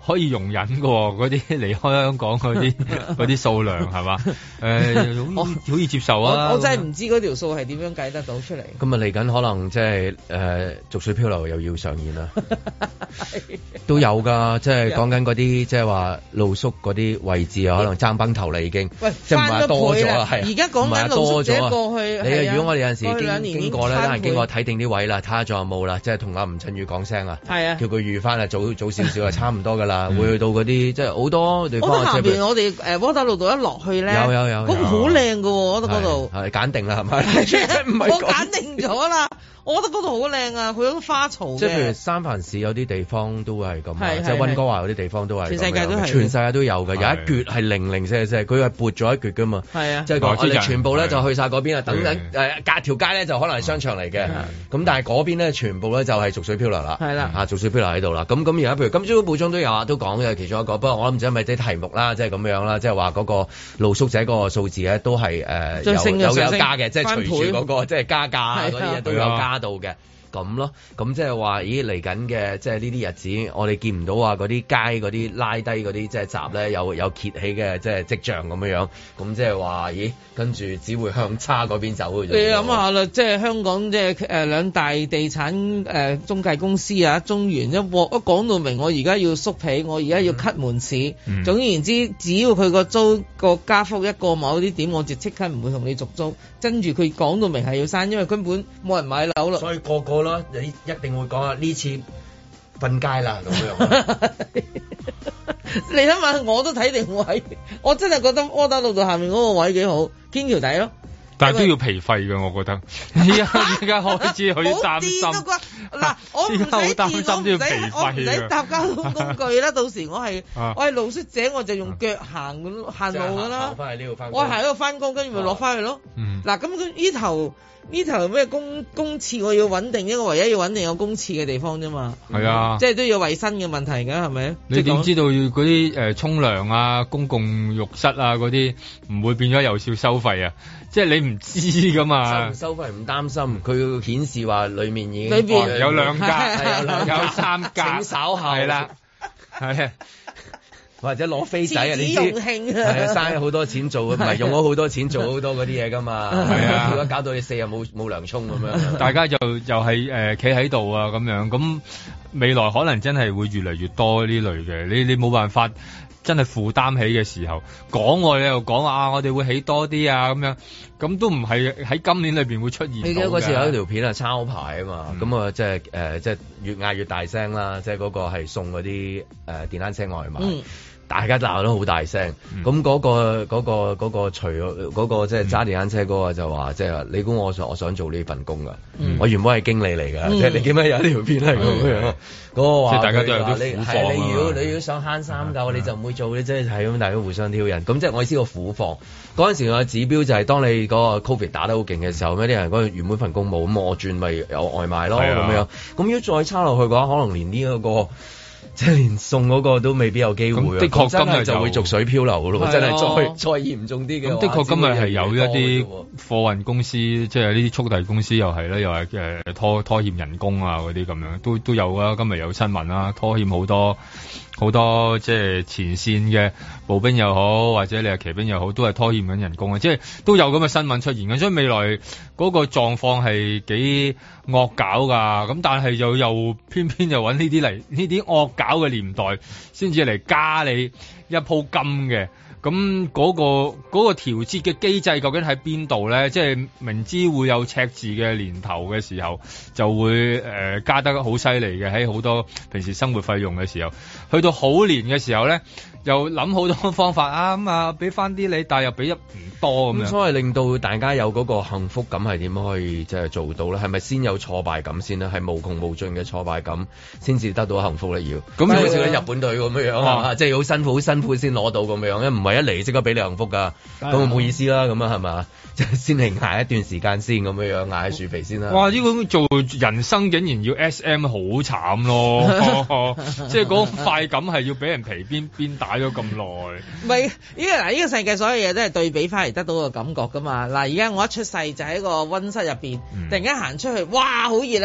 可以容忍嘅喎，嗰啲離開香港嗰啲嗰啲數量係嘛？誒、呃，好好易接受啊！ 我，我真係唔知嗰條數係點樣計得到出嚟。 咁啊嚟緊可能即係誒逐水漂流又要上演啦，都有㗎，即係講緊嗰啲即係話露宿嗰啲位置啊，可能爭崩頭啦已經。喂，即係唔係多咗啦？係而家講緊露宿者過去。你如果我哋有陣時經經過咧，得閒經過睇定啲位啦，睇下仲有冇啦，即係同阿吳振宇講聲啊，係啊，叫佢預翻啊，早早少少啊，差唔多㗎啦，會去到嗰啲即係好多地方。我覺得下邊我哋誒窩打老道一落去咧，有有有，嗰個好靚㗎喎，我覺得嗰度係揀定啦，係咪？我揀定咗啦。我覺得嗰度好靚啊，佢有啲花草。即係譬如三藩市有啲地方都係咁，即係溫哥華有啲地方都係。全世界都係，全世界都有嘅。有一橛係零零舍舍，佢係撥咗一橛㗎嘛。係啊，即係我哋全部咧就去晒嗰邊啊，等等誒隔條街咧就可能係商場嚟嘅。咁但係嗰邊咧全部咧就係逐水漂流啦。係啦，啊逐水漂流喺度啦。咁咁而家譬如今朝報章都有啊，都講嘅其中一個。不過我諗唔知係咪啲題目啦，即係咁樣啦，即係話嗰個露宿者嗰個數字咧都係誒有有有加嘅，即係隨住嗰個即係加價嗰啲嘢都有加到嘅。咁咯，咁即係話，咦嚟緊嘅，即係呢啲日子，我哋見唔到話嗰啲街嗰啲拉低嗰啲即係閘咧，有有揭起嘅即係跡象咁樣樣，咁即係話，咦，跟住只會向差嗰邊走嘅啫。你諗下啦，即係香港即係誒兩大地產誒、呃、中介公司啊，中原一鑊一講到明，我而家要縮皮，我而家要 cut 門市，嗯、總言之，只要佢個租個加幅一個某啲點，我就即刻唔會同你續租。跟住佢講到明係要刪，因為根本冇人買樓啦。所以個個咯，你一定會講啊！呢次瞓街啦咁樣。你諗下，我都睇定位，我真係覺得窩打老道下面嗰個位幾好，堅橋底咯。但係都要皮費嘅，我覺得。依家依家開始好擔心。嗱，我唔使電，我唔使我唔使搭交通工具啦。到時我係我係露宿者，我就用腳行行路噶啦。我行喺度翻工，跟住咪落翻去咯。嗱，咁佢呢頭呢頭咩公公廁，我要穩定一個唯一要穩定有公廁嘅地方啫嘛。係啊，即係都要衞生嘅問題㗎，係咪？你點知道嗰啲誒沖涼啊、公共浴室啊嗰啲唔會變咗有少收費啊？即係你唔知噶嘛，收唔收費唔擔心，佢顯示話裡面已經裏邊有兩間，係有兩有三間，請稍後係啦，係啊，或者攞飛仔啊，你知係啊，嘥好多錢做，唔係用咗好多錢做好多嗰啲嘢噶嘛，係啊，如果搞到你四日冇冇涼沖咁樣，大家就又係誒企喺度啊咁樣，咁未來可能真係會越嚟越多呢類嘅，你你冇辦法。真係負擔起嘅時候，講我你又講啊，我哋會起多啲啊咁樣，咁都唔係喺今年裏邊會出現。你記得嗰時有一條片係抄牌啊嘛，咁啊即係誒即係越嗌越大聲啦，即係嗰個係送嗰啲誒電單車外賣。嗯大家鬧得好大聲，咁嗰、嗯嗰個嗰、嗰個嗰、嗰個除嗰、嗰個即係揸電單車嗰個就話，即係你估我想我想做呢份工㗎？嗯、我原本係經理嚟㗎，即係、嗯、你見咩有呢條片係咁樣？嗰、嗯、個話即係大家都有啲苦況啊！你如果你要想慳三嚿，你就唔會做，你即係係咁，大家互相挑釁。咁即係我意思個苦況。嗰陣時個指標就係當你嗰個 Covid 打得好勁嘅時候，咩啲人嗰原本份工冇，咁我轉咪有外賣咯咁、啊、樣。咁如果再差落去嘅話，可能連呢、這、一個。即係連送嗰個都未必有機會，的確今日就會逐水漂流嘅咯，真係再再嚴重啲嘅。咁的確今日係有一啲貨運公司，即係呢啲速遞公司又係咧，又係誒拖拖欠人工啊嗰啲咁樣，都都有啊。今日有新聞啦，拖欠好多好多即係前線嘅步兵又好，或者你係騎兵又好，都係拖欠緊人工啊！即係都有咁嘅新聞出現嘅，所以未來嗰個狀況係幾惡搞㗎。咁但係又又偏偏又揾呢啲嚟呢啲惡搞嘅年代，先至嚟加你一鋪金嘅。咁嗰個嗰個調節嘅機制究竟喺邊度咧？即係明知會有赤字嘅年頭嘅時候，就會誒加得好犀利嘅，喺好多平時生活費用嘅時候，去到好年嘅時候咧，又諗好多方法啊咁啊，俾翻啲你，但係又俾一唔多咁樣。咁所以令到大家有嗰個幸福感係點樣可以即係做到咧？係咪先有挫敗感先咧？係無窮無盡嘅挫敗感先至得到幸福咧？要咁好似日本隊咁樣樣啊，即係好辛苦好辛苦先攞到咁樣，因為唔係一嚟即刻俾你幸福㗎，咁冇意思啦，咁啊係嘛？即係先嚟捱一段時間先咁樣樣，捱樹皮先啦。哇！呢個做人生竟然要 S M 好慘咯，即係嗰快感係要俾人皮鞭鞭打咗咁耐。唔係，呢個嗱，呢個世界所有嘢都係對比翻嚟得到個感覺㗎嘛。嗱，而家我一出世就喺個溫室入邊，突然間行出去，哇，好熱啊！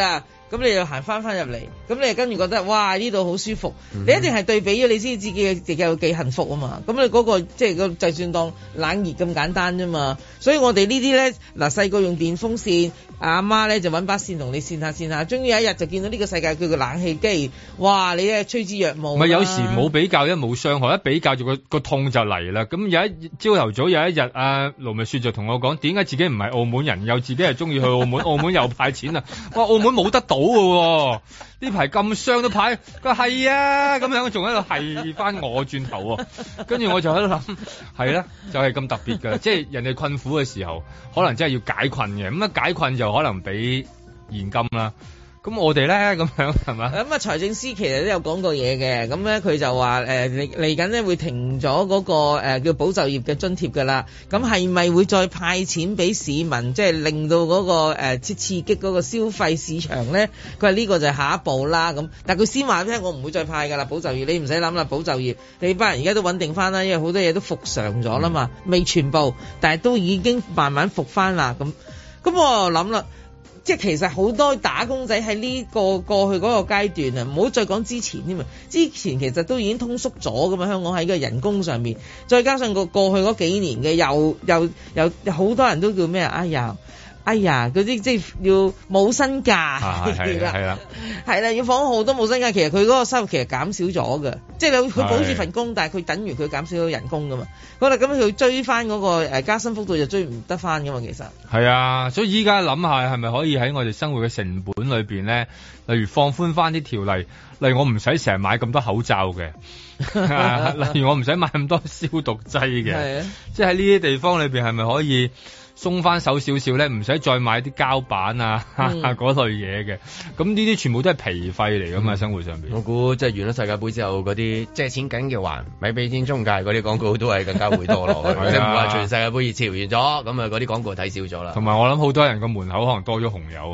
咁你又行翻翻入嚟，咁你跟住覺得哇呢度好舒服，嗯、你一定係對比咗你先知自己自己有幾幸福啊嘛。咁你嗰、嗰個即係個就算當冷熱咁簡單啫嘛。所以我哋呢啲咧嗱細個用電風扇，阿媽咧就揾把扇同你扇下扇下，終於有一日就見到呢個世界叫做冷氣機，哇！你咧趨之若鶩。唔係有時冇比較一冇傷害，一比較就個個痛就嚟啦。咁有一朝頭早有一日，阿盧覓雪就同我講，點解自己唔係澳門人，又自己係中意去澳門，澳門又派錢啊！哇，澳門冇得到嘅喎，呢排咁傷都派，佢話係啊，咁樣仲喺度係翻我轉頭喎，跟住我就喺度諗，係啦，就係、是、咁特別㗎，即係人哋困苦嘅時候，可能真係要解困嘅，咁一解困就可能俾現金啦。咁我哋咧咁樣係嘛？咁啊財政司其實都有講過嘢嘅，咁咧佢就話誒嚟嚟緊咧會停咗嗰、嗰個、呃、叫保就業嘅津貼㗎啦。咁係咪會再派錢俾市民，即係令到嗰、嗰個誒、呃、刺激嗰個消費市場咧？佢話呢個就係下一步啦。咁但係佢先話聽，我唔會再派㗎啦。保就業你唔使諗啦，保就業你班人而家都穩定翻啦，因為好多嘢都復常咗啦嘛，嗯、未全部，但係都已經慢慢復翻啦。咁咁我諗啦。即係其實好多打工仔喺呢個過去嗰個階段啊，唔好再講之前添啊！之前其實都已經通縮咗噶嘛，香港喺個人工上面，再加上個過去嗰幾年嘅又又又好多人都叫咩啊？哎呀！哎呀，嗰啲即係要冇薪假，係啦，係啦，係啦，要放好多冇薪假。其實佢嗰個收入其實減少咗嘅，即係佢保住份工，但係佢等於佢減少咗人工噶嘛。好啦，咁佢追翻嗰個誒加薪幅度就追唔得翻噶嘛。其實係啊，所以依家諗下係咪可以喺我哋生活嘅成本裏邊咧，例如放寬翻啲條例，例如我唔使成日買咁多口罩嘅，例如我唔使買咁多消毒劑嘅，即係喺呢啲地方裏邊係咪可以鬆翻手少少咧，唔使再買啲膠板啊嗰、嗯、類嘢嘅，咁呢啲全部都係皮費嚟噶嘛，嗯、生活上邊。我估即係完咗世界盃之後，嗰啲借錢緊嘅還咪俾錢中介嗰啲廣告都係更加會多咯，即係唔話全世界盃熱潮完咗，咁啊嗰啲廣告睇少咗啦。同埋我諗好多人個門口可能多咗紅油。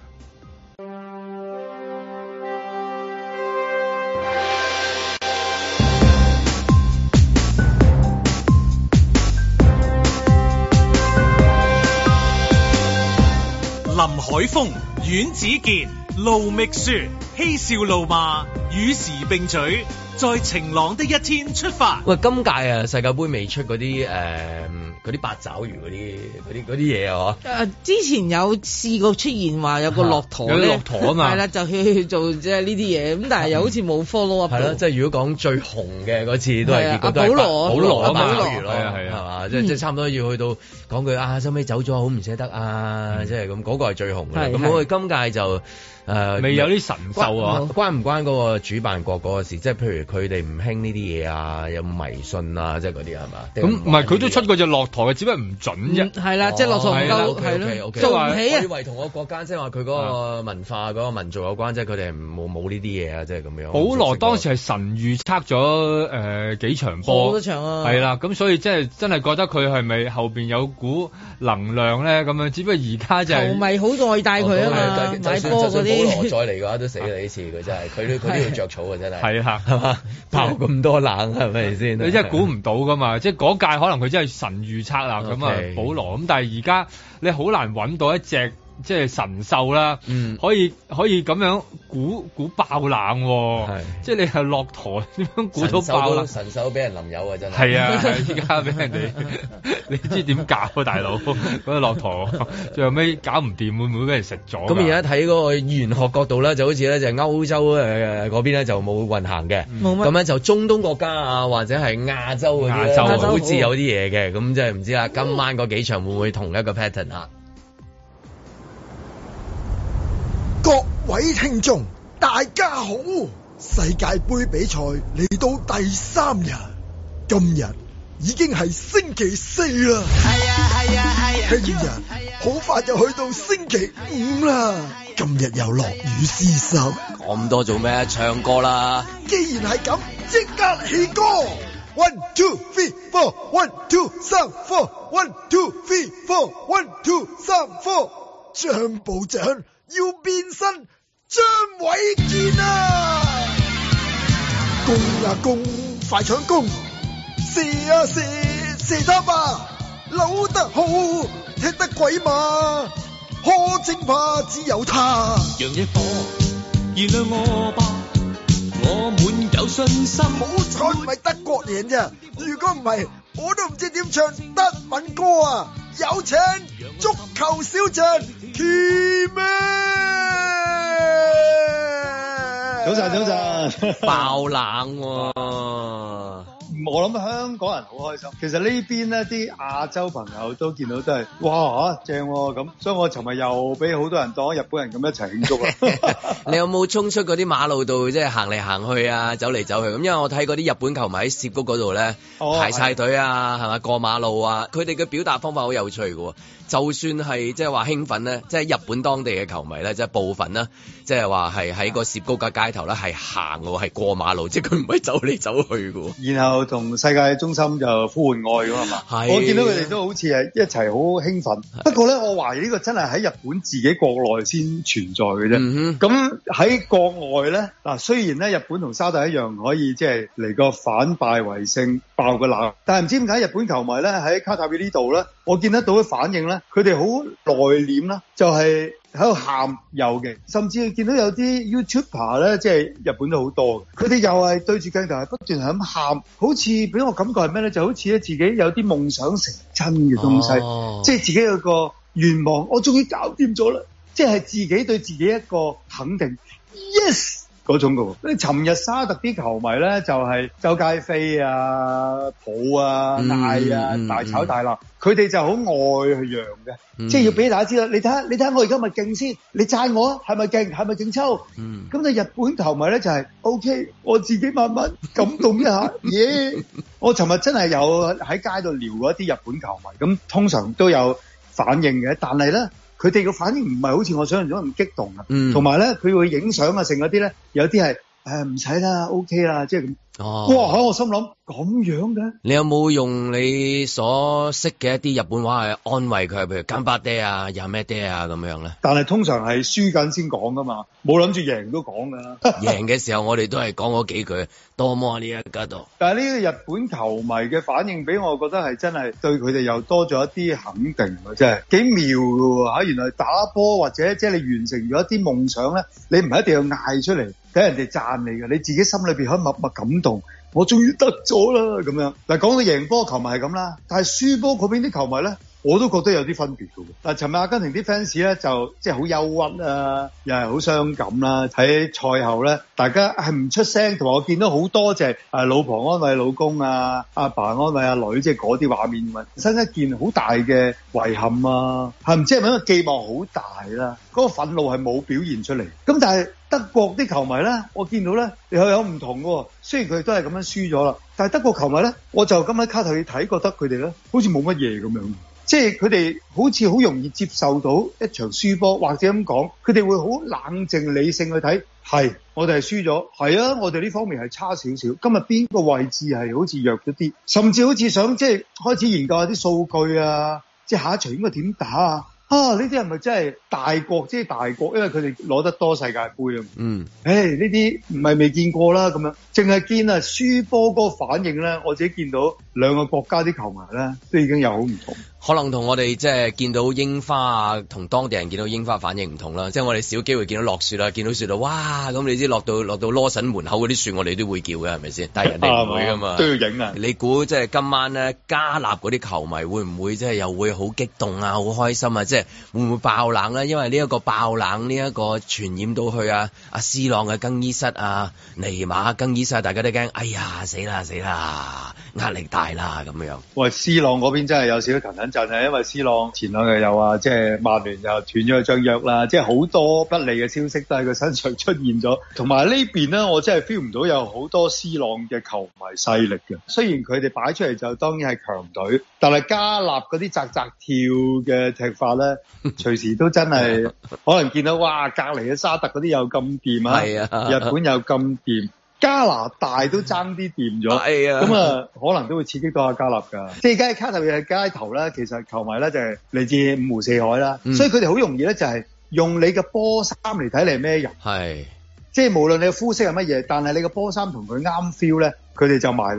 林海峰、阮子健、盧覓雪，嬉笑怒罵，與時並舉，在晴朗的一天出發。 喂，今屆啊世界盃未出嗰啲誒嗰啲八爪魚嗰啲嗰啲嗰啲嘢啊？ 誒，之前有試過出現話有個駱駝咧， 有駱駝啊嘛， 係啦，就去做即係呢啲嘢，咁但係又好似冇 follow up。係咯， 即係如果講最紅嘅嗰次都係結果都係保羅保羅啊嘛， 保羅係啊係啊，係嘛，即係即係差唔多要去到講句啊，收尾走咗好唔捨得啊，即係咁嗰個係最紅嘅。咁我哋今屆就。誒，未、呃、有啲神獸啊？關唔關嗰個主辦國嗰個事？即係譬如佢哋唔興呢啲嘢啊，有迷信啊，即係嗰啲係嘛？咁唔係佢都出過隻駱駝嘅，只不過唔準啫。係啦、嗯，即係駱駝唔夠，係咯，做唔起啊！我以為同個國家即係話佢嗰個文化、嗰、嗰個民族有關，即係佢哋冇冇呢啲嘢啊，即係咁樣。保羅當時係神預測咗誒幾場波，好多場啊！係啦，咁所以即係真係覺得佢係咪後邊有股能量咧？咁樣，只不過而家就係球迷好愛戴佢啊嘛，買波嗰啲。保羅再嚟嘅話都死啦！呢次佢真係，佢都佢都要着草啊！真係係啊，係嘛？爆咁多冷係咪先？你真係估唔到噶嘛？即係嗰屆可能佢真係神預測啦咁啊，保羅咁，但係而家你好難揾到一隻。即係神獸啦，嗯、可以可以咁樣估估爆冷、啊，係即係你係駱駝點樣估到爆冷？神獸俾人淋油啊！真係係啊！依家俾人哋，你知點搞啊，大佬？嗰個駱駝最後尾搞唔掂，會唔會俾人食咗？咁而家睇嗰個玄學角度咧，就好似咧就係歐洲誒嗰邊咧就冇運行嘅，冇乜咁樣就中東國家啊或者係亞洲嗰啲，亞洲好似有啲嘢嘅，咁即係唔知啦。今晚嗰幾場會唔會同一個 pattern 啊？ 各位聽眾，大家好！世界盃比賽嚟到第三日，今日已經係星期四啦。係啊係啊係啊！聽日好快就去到星期五啦。今日又落雨絲濕， 講咁多做咩？唱歌啦！ 既然係咁，即刻起歌。One two three four, one two 三 four, one two three four, one two 三 four， 張部長。要變身張衛健啊！攻啊攻，快搶攻！射啊射，射得啊！扭得好，踢得鬼馬！ 可稱怕只有他。 讓野火燃亮我吧，我滿有信心。 好彩唔係德國贏啫，如果唔係，我都唔知點唱德文歌啊！有請足球小將 Kimi。 早晨，早晨， 爆冷喎、啊！ 我諗香港人好開心。其實呢邊呢啲亞洲朋友都見到都係哇嚇正喎咁，所以我尋日又俾好多人當日本人咁一齊慶祝啊！ 你有冇衝出嗰啲馬路度即係行嚟行去啊，走嚟走去咁？因為我睇嗰啲日本球迷喺涉谷嗰度咧排晒隊啊，係咪過馬路啊？佢哋嘅表達方法好有趣嘅喎。就算係即係話興奮咧，即係日本當地嘅球迷咧，即係部分啦，即係話係喺個涉谷嘅街頭咧係行喎，係過馬路，即係佢唔係走嚟走去嘅。 然後同世界中心就呼喚愛㗎嘛，我見到佢哋都好似係一齊好興奮。不過咧，我懷疑呢個真係喺日本自己國內先存在嘅啫。咁喺、嗯、國外咧，嗱雖然咧日本同沙特一樣可以即係嚟個反敗為勝，爆個冷，但係唔知點解日本球迷咧喺卡塔爾呢度咧，我見得到嘅反應咧，佢哋好內斂啦，就係喺度喊有嘅，甚至見到有啲 YouTuber 咧，即係日本都好多，佢哋又係對住鏡頭係不斷係咁喊，好似俾我感覺係咩咧？就好似咧自己有啲夢想成真嘅東西，哦、即係自己有個願望，我終於搞掂咗啦，即係自己對自己一個肯定 ，yes。嗰種嘅喎，你尋日沙特啲球迷咧就係、是、周街飛啊、抱啊、嗌啊、嗯、大吵大鬧，佢哋、嗯、就好愛去讓嘅，嗯、即係要俾大家知道，你睇下，你睇下我而家咪勁先，你讚我啊，係咪勁？係咪勁抽？咁你、嗯、日本球迷咧就係、是、OK，我自己慢慢感動一下，耶、yeah! 我尋日真係有喺街度撩過一啲日本球迷，咁通常都有反應嘅，但係咧。佢哋個反應唔係好似我想象中咁激動啊，同埋咧佢會影相啊，剩嗰啲咧有啲係誒唔使啦 ，OK 啦，即係咁。哦，哇！喺我心諗咁樣嘅。你有冇用你所識嘅一啲日本話去安慰佢，譬如干巴爹啊、有咩爹啊咁樣咧？但係通常係輸緊先講噶嘛，冇諗住贏都講噶。贏嘅時候我哋都係講嗰幾句多麼呢一家度。但係呢個日本球迷嘅反應俾我覺得係真係對佢哋又多咗一啲肯定啊，真係幾妙㗎喎嚇！原來打波或者即係你完成咗一啲夢想咧，你唔係一定要嗌出嚟。俾人哋讚你嘅，你自己心裏邊可以默默感動，我終於得咗啦咁樣。嗱，講到贏波球迷係咁啦，但係輸波嗰邊啲球迷咧，我都覺得有啲分別嘅。嗱，尋日阿根廷啲 fans 咧就即係好憂鬱啊，又係好傷感啦。喺賽後咧，大家係唔出聲，同埋我見到好多隻誒老婆安慰老公啊，阿爸安慰阿女，即係嗰啲畫面，生一件好大嘅遺憾啊，係唔知係咪因為寄望好大啦？嗰個憤怒係冇表現出嚟。咁但係德國啲球迷咧，我見到咧又有唔同喎。雖然佢哋都係咁樣輸咗啦，但係德國球迷咧，我就咁喺卡塔爾睇，覺得佢哋咧好似冇乜嘢咁樣。即係佢哋好似好容易接受到一場輸波，或者咁講，佢哋會好冷靜理性去睇。係，我哋係輸咗，係啊，我哋呢方面係差少少。今日邊個位置係好似弱咗啲，甚至好似想即係開始研究下啲數據啊，即係下一場應該點打啊？啊！呢啲係咪真係大國？即係大國，因為佢哋攞得多世界盃啊。嗯。誒，呢啲唔係未見過啦，咁樣淨係見啊輸波嗰個反應咧，我自己見到兩個國家啲球迷咧，都已經有好唔同。可能同我哋即係見到櫻花啊，同當地人見到櫻花反應唔同啦。即係我哋少機會見到落雪啦，見到雪啦，哇！咁你知落到落到羅神門口嗰啲雪，我哋都會叫嘅，係咪先？但係人哋唔會噶嘛，都要影啊！你估即係今晚咧加納嗰啲球迷會唔會即係又會好激動啊，好開心啊？即係會唔會爆冷咧？因為呢一個爆冷呢一個傳染到去啊，阿 C 朗嘅更衣室啊，尼馬更衣室，大家都驚，哎呀死啦死啦，壓力大啦咁樣。喂，C 朗嗰邊真係有少少騰騰震啊，因為 C 朗前兩日又話即係曼聯又斷咗佢張約啦，即係好多不利嘅消息都喺佢身上出現咗。同埋呢邊咧，我真係 feel 唔到有好多 C 朗嘅球迷勢力嘅。雖然佢哋擺出嚟就當然係強隊，但係加納嗰啲扎扎跳嘅踢法咧，隨時都真係可能見到哇，隔離嘅沙特嗰啲又咁掂啊，日本又咁掂。加拿大都爭啲掂咗，咁啊可能都會刺激到阿加納㗎。即係而家喺卡塔爾嘅街頭咧，其實球迷咧就係嚟自五湖四海啦，嗯、所以佢哋好容易咧就係用你嘅波衫嚟睇你係咩人。係，即係無論你嘅膚色係乜嘢，但係你嘅波衫同佢啱 feel 咧，佢哋就埋嚟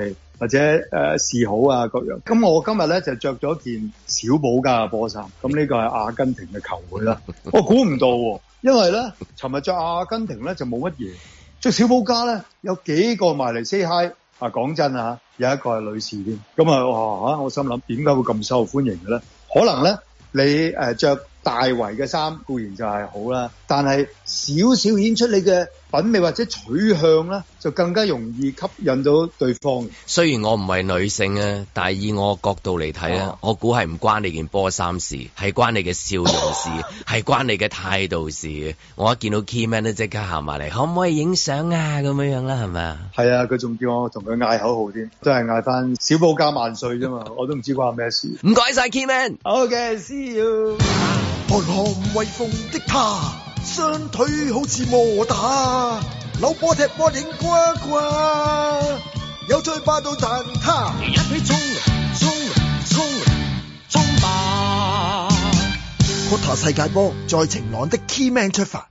或者誒、呃、示好啊各樣。咁我今日咧就着咗件小保加嘅波衫，咁呢個係阿根廷嘅球會啦。我估唔到喎、啊，因為咧尋日着阿根廷咧就冇乜嘢，着小保加咧有幾個埋嚟 say hi。啊，講真啊，有一個係女士添，咁啊哇嚇！我心諗點解會咁受歡迎嘅咧？可能咧你誒著大圍嘅衫固然就係好啦，但係少少顯出你嘅品味或者取向咧，就更加容易吸引到對方。 雖然我唔係女性啊，但係以我角度嚟睇咧，啊、我估係唔關你件波衫事，係關你嘅笑容事，係關你嘅態度事。我一見到 Keyman 都即刻行埋嚟，可唔可以影相啊？咁樣樣啦，係咪啊？係啊，佢仲叫我同佢嗌口號添，都係嗌翻小保加萬歲啫嘛，我都唔知關咩事。 唔該晒 Keyman。 OK，see you。 韓寒威風的他，雙腿好似摩打，扭波踢波影呱呱，有最霸道彈他， 一起衝衝衝衝吧！ 擴塔世界波，在晴朗的 Keyman 出發。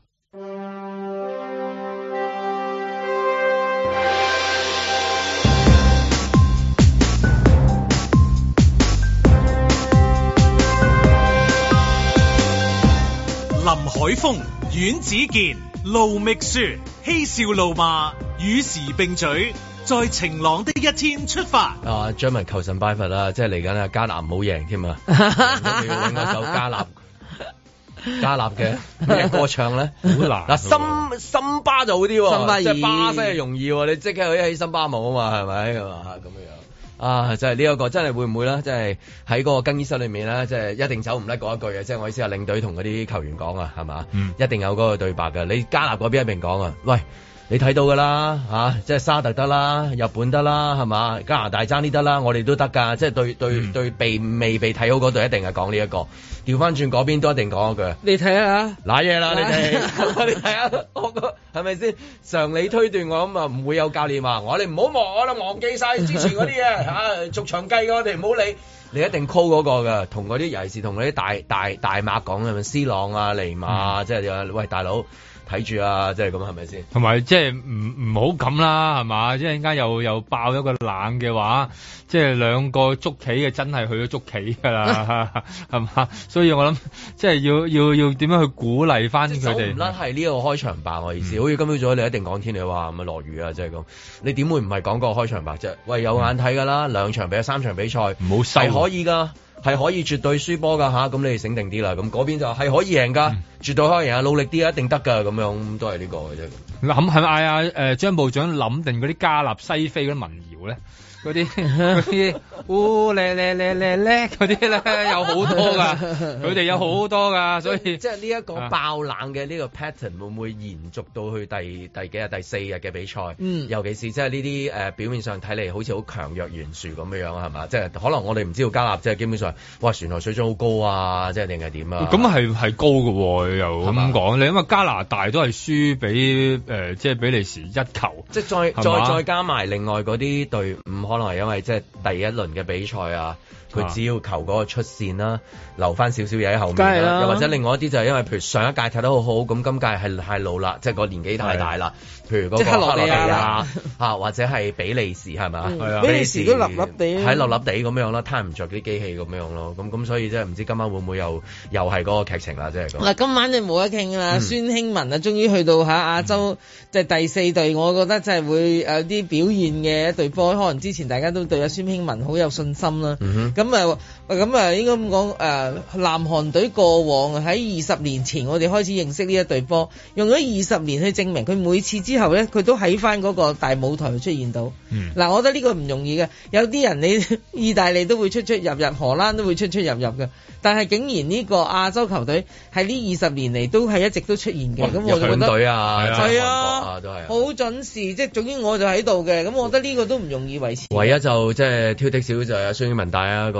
林海峰、阮子健、盧覓雪，嬉笑怒罵，與時並舉，在晴朗的一天出發。 啊，張文求神拜佛啦，即係嚟緊啊，加納唔好贏添啊！要揾一首加納加納嘅咩歌唱咧，好難。嗱，森森巴就好啲，森巴即係巴西係容易，你即刻去起森巴舞啊嘛，係咪咁啊？咁樣。啊，就係呢一個真係會唔會咧？即係喺嗰個更衣室裏面咧，即係一定走唔甩嗰一句嘅。即係我意思係領隊同嗰啲球員講啊，係嘛？嗯，一定有嗰個對白嘅。你加納嗰邊一定講啊，喂，你睇到㗎啦嚇，即係沙特得啦，日本得啦，係嘛？加拿大爭啲得啦，我哋都得㗎。即係對對、嗯、對被未被睇好嗰隊一定係講呢一個。調翻轉嗰邊都一定講一句。 你睇下， 瀨嘢啦，你哋，你睇下，我個係咪先？常理推斷我諗啊，唔會有教練話我哋唔好忘，我哋忘記晒之前嗰啲嘢嚇，逐場計嘅我哋唔好理。你一定 call 嗰個㗎，同嗰啲尤其是同嗰啲大大大馬講係咪？C 朗啊、尼馬啊，即係喂大佬。睇住啊，即係咁係咪先？ 同埋即係唔唔好咁啦，係嘛？即係陣間又又爆一個冷嘅話，即係兩個捉棋嘅真係去咗捉棋㗎啦，係嘛？所以我諗即係要要要點樣去鼓勵翻佢哋？走唔甩係呢個開場白我意思，嗯、好似今朝早你一定講天氣話咁啊落雨啊，即係咁。你點會唔係講個開場白啫？喂，有眼睇㗎啦，嗯、兩場比賽、三場比賽，唔好收係可以㗎。係可以絕對輸波㗎吓，咁你哋醒定啲啦。咁嗰邊就係可以贏㗎，嗯、絕對可以贏啊！努力啲一定得㗎，咁樣都係呢個嘅啫。 諗係咪嗌啊？誒張部長諗定嗰啲加納西非嗰啲民謠咧？嗰啲嗰啲，嗚咧咧咧咧咧嗰啲咧有好多㗎，佢哋有好多㗎，所以即係呢一個爆冷嘅呢個 pattern 會唔會延續到去第第幾日、第四日嘅比賽？嗯，尤其是即係呢啲誒表面上睇嚟好似好強弱懸殊咁樣樣係嘛？即係可能我哋唔知道加納即係基本上哇船頭水準好高啊，即係定係點啊？ 咁係係高嘅喎，又咁講你因為加拿大都係輸俾誒即係比利時一球， 即係再再再加埋另外嗰啲隊伍。可能係因為即係第一輪嘅比賽啊，佢只要求嗰個出線啦，留翻少少嘢喺後面啦，又或者另外一啲就係因為譬如上一屆踢得好好，咁今屆係太老啦，即係個年紀太大啦。譬如嗰個克羅地亞啊，或者係比利時係咪啊？比利時都立立地，喺立立地咁樣啦，攤唔着啲機器咁樣咯。咁咁所以即係唔知今晚會唔會又又係嗰個劇情啦，即係咁。嗱， 今晚就冇得傾啦。孫興文啊，終於去到嚇亞洲即係第四隊，我覺得真係會有啲表現嘅一隊波。可能之前大家都對阿孫興文好有信心啦。咁啊咁啊，應該咁講誒，南韓隊過往喺二十年前，我哋開始認識呢一隊波，用咗二十年去證明佢每次之後咧，佢都喺翻嗰個大舞台出現到。嗱、嗯，我覺得呢個唔容易嘅。有啲人你意大利都會出出入入，荷蘭都會出出入入嘅，但係竟然呢個亞洲球隊喺呢二十年嚟都係一直都出現嘅。咁、哦、我就覺得隊啊， 係啊，都係好準時。即係總之我就喺度嘅。咁我覺得呢個都唔容易維持。 唯一就即係挑剔少就係孫興文戴一個罩啦。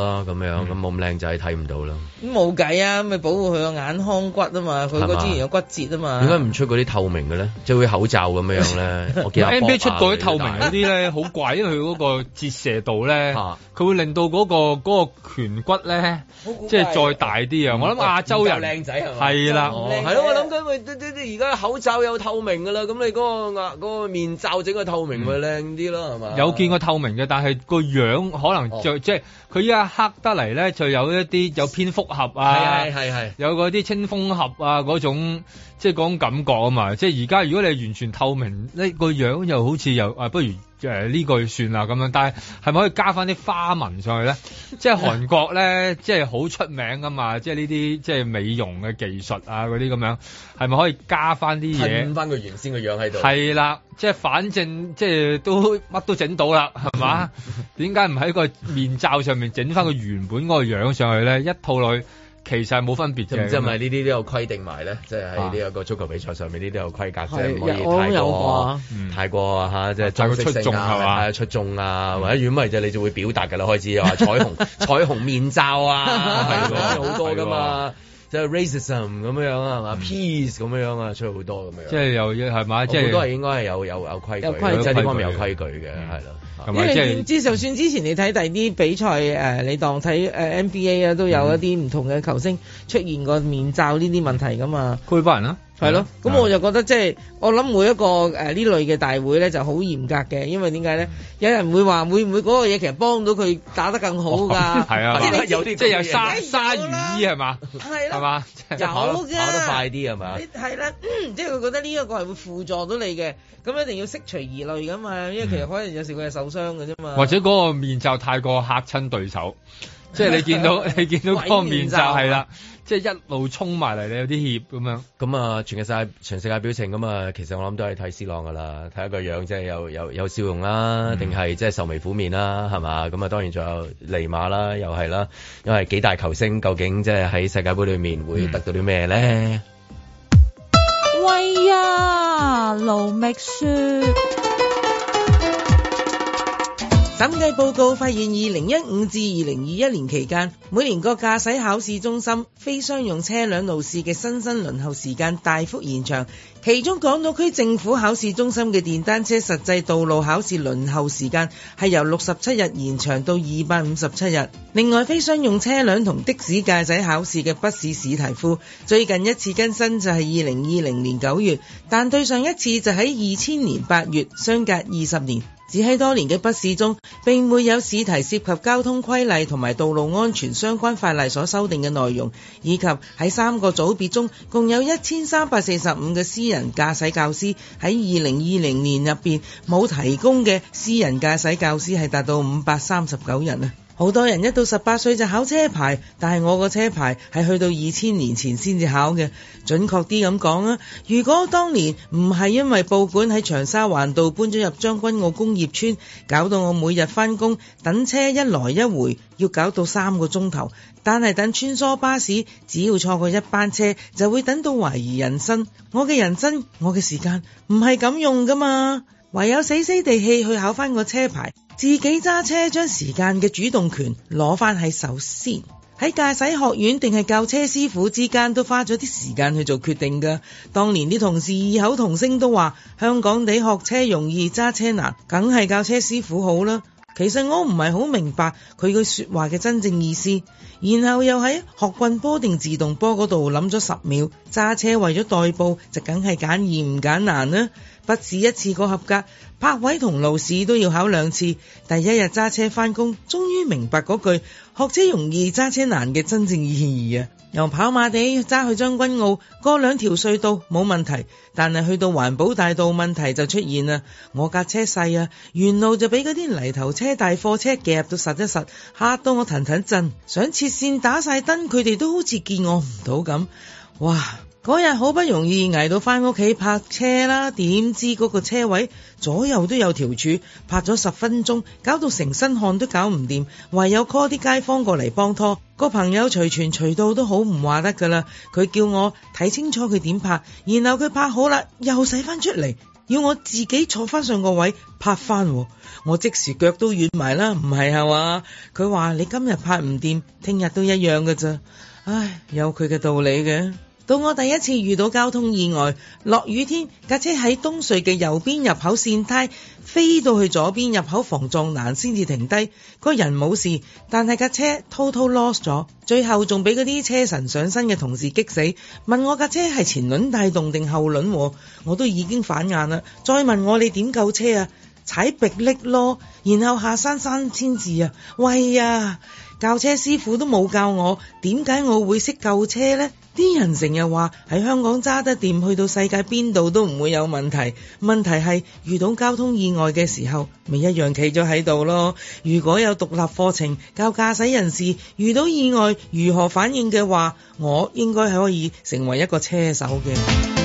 啦，咁樣咁冇咁靚仔睇唔到啦。 咁冇計啊，咪保護佢個眼眶骨啊嘛，佢個之前有骨折啊嘛。 點解唔出嗰啲透明嘅咧？即係會口罩咁樣咧？我見 N B A 出過啲透明嗰啲咧，好怪，因為佢嗰個折射度咧，佢會令到嗰個嗰個顴骨咧，即係再大啲啊！我諗亞洲人靚仔係嘛？ 係啦， 係咯，我諗緊喂，而家口罩有透明㗎啦，咁你嗰個嗰個面罩整個透明咪靚啲咯，係嘛？ 有見過透明嘅，但係個樣可能就即係佢依家黑得嚟咧，就有一啲有蝙蝠俠啊， 係係係， 有嗰啲青蜂俠啊嗰種。即係嗰種感覺啊嘛，即係而家如果你係完全透明，呢個樣又好似又啊，不如誒呢個算啦咁樣。但係係咪可以加翻啲花紋上去咧？即係韓國咧，即係好出名噶嘛，即係呢啲即係美容嘅技術啊嗰啲咁樣，係咪可以加翻啲嘢？ 噴翻個原先嘅樣喺度。係啦，即係反正即係都乜都整到啦，係嘛？點解唔喺個面罩上面整翻個原本嗰個樣上去咧？一套落去。其實係冇分別嘅， 即係咪呢啲都有規定埋咧？即係喺呢一個足球比賽上面，呢啲有規格，即係唔可以太過太過嚇，即係太過出眾係嘛？出眾啊，或者如果唔係就你就會表達㗎啦，開始話彩虹彩虹面罩啊，係好多㗎嘛。即係 racism 咁樣啊，係嘛 peace 咁樣啊，出去好多咁樣。 即係又係嘛？即係好多係應該係有有有規矩，即係呢方面有規矩嘅，係咯。 因為點知就算之前你睇第二啲比賽誒，你當睇誒 N B A 啊，都有一啲唔同嘅球星出現過面罩呢啲問題噶嘛。 佢班人啊？ 係咯，咁我就覺得即係我諗每一個誒呢類嘅大會咧就好嚴格嘅，因為點解咧？有人會話會唔會嗰個嘢其實幫到佢打得更好㗎？ 係啊，有啲即係有鯊鯊魚衣係嘛？ 係啦， 係嘛？ 有㗎，跑得快啲係嘛？ 係啦，即係佢覺得呢一個係會輔助到你嘅，咁一定要釋除疑慮㗎嘛，因為其實可能有時佢係受傷㗎啫嘛。 或者嗰個面罩太過嚇親對手，即係你見到你見到嗰個面罩係啦。即係一路衝埋嚟，你有啲怯咁樣。咁啊，全世界全世界表情咁啊，其實我諗都係睇 C 朗噶啦，睇一個樣，即係有有有笑容啦，定係即係愁眉苦面啦，係嘛？咁啊，當然仲有尼馬啦，又係啦，因為幾大球星，究竟即係喺世界盃裏面會得到啲咩咧？ 嗯、喂呀，盧覓雪。 審計報告發現，二零一五至二零二一年期間，每年各駕駛考試中心非商用車輛路試嘅新生輪候時間大幅延長。其中港島區政府考試中心嘅電單車實際道路考試輪候時間係由六十七日延長到二百五十七日。另外，非商用車輛同的士駕駛考試嘅筆試試題庫最近一次更新就係二零二零年九月，但對上一次就喺二千年八月，相隔二十年。只喺多年嘅筆試中，並沒有試題涉及交通規例同埋道路安全相關法例所修訂嘅內容，以及喺三個組別中，共有一千三百四十五個私人駕駛教師喺二零二零年入邊冇提供嘅私人駕駛教師係達到五百三十九人啊！好多人一到十八歲就考車牌，但係我個車牌係去到二千年前先至考嘅。準確啲咁講啊，如果當年唔係因為報館喺長沙灣道搬咗入將軍澳工業村，搞到我每日返工等車一來一回要搞到三個鐘頭，但係等穿梭巴士只要錯過一班車就會等到懷疑人生。我嘅人生，我嘅時間唔係咁用㗎嘛，唯有死死地氣去考返個車牌，自己揸車將時間嘅主動權攞返喺手先。喺駕駛學院定係教車師傅之間都花咗啲時間去做決定㗎。當年啲同事異口同聲都話香港地學車容易揸車難，梗係教車師傅好啦。其實我唔係好明白佢句說話嘅真正意思，然後又喺學棍波定自動波嗰度諗咗十秒。揸車為咗代步就梗係揀易唔揀難啦。筆試一次過合格，泊位同路試都要考兩次。第一日揸車返工，終於明白嗰句學車容易揸車難嘅真正意義啊！由跑馬地揸去將軍澳，過兩條隧道冇問題，但係去到環保大道問題就出現啦。我架車細啊，沿路就俾嗰啲泥頭車大貨車夾到實一實，嚇到我騰騰震，想切線打晒燈，佢哋都好似見我唔到咁。哇！嗰日好不容易捱到返屋企泊車啦，點知嗰個車位左右都有條柱，泊咗十分鐘，搞到成身汗都搞唔掂，唯有 call 啲街坊過嚟幫拖。個朋友隨傳隨到都好唔話得噶啦，佢叫我睇清楚佢點泊，然後佢泊好啦，又駛返出嚟， 要我自己坐翻上個位拍翻，我即時腳都軟埋啦，唔係係嘛？佢話你今日拍唔掂，聽日都一樣㗎咋，唉，有佢嘅道理嘅。到我第一次遇到交通意外，落雨天，架車喺東隧嘅右邊入口跣胎，飛到去左邊入口防撞欄先至停低，個人冇事，但係架車 total lost 咗，最後仲俾嗰啲車神上身嘅同事激死，問我架車係前輪帶動定後輪，我都已經反眼啦，再問我你點救車啊？踩迫力咯，然後下山三千字啊，喂呀！教車師傅都冇教我，點解我會識救車呢？啲人成日話喺香港揸得掂，去到世界邊度都唔會有問題。問題係遇到交通意外嘅時候，咪一樣企咗喺度咯。如果有獨立課程教駕駛人士遇到意外如何反應嘅話，我應該係可以成為一個車手嘅。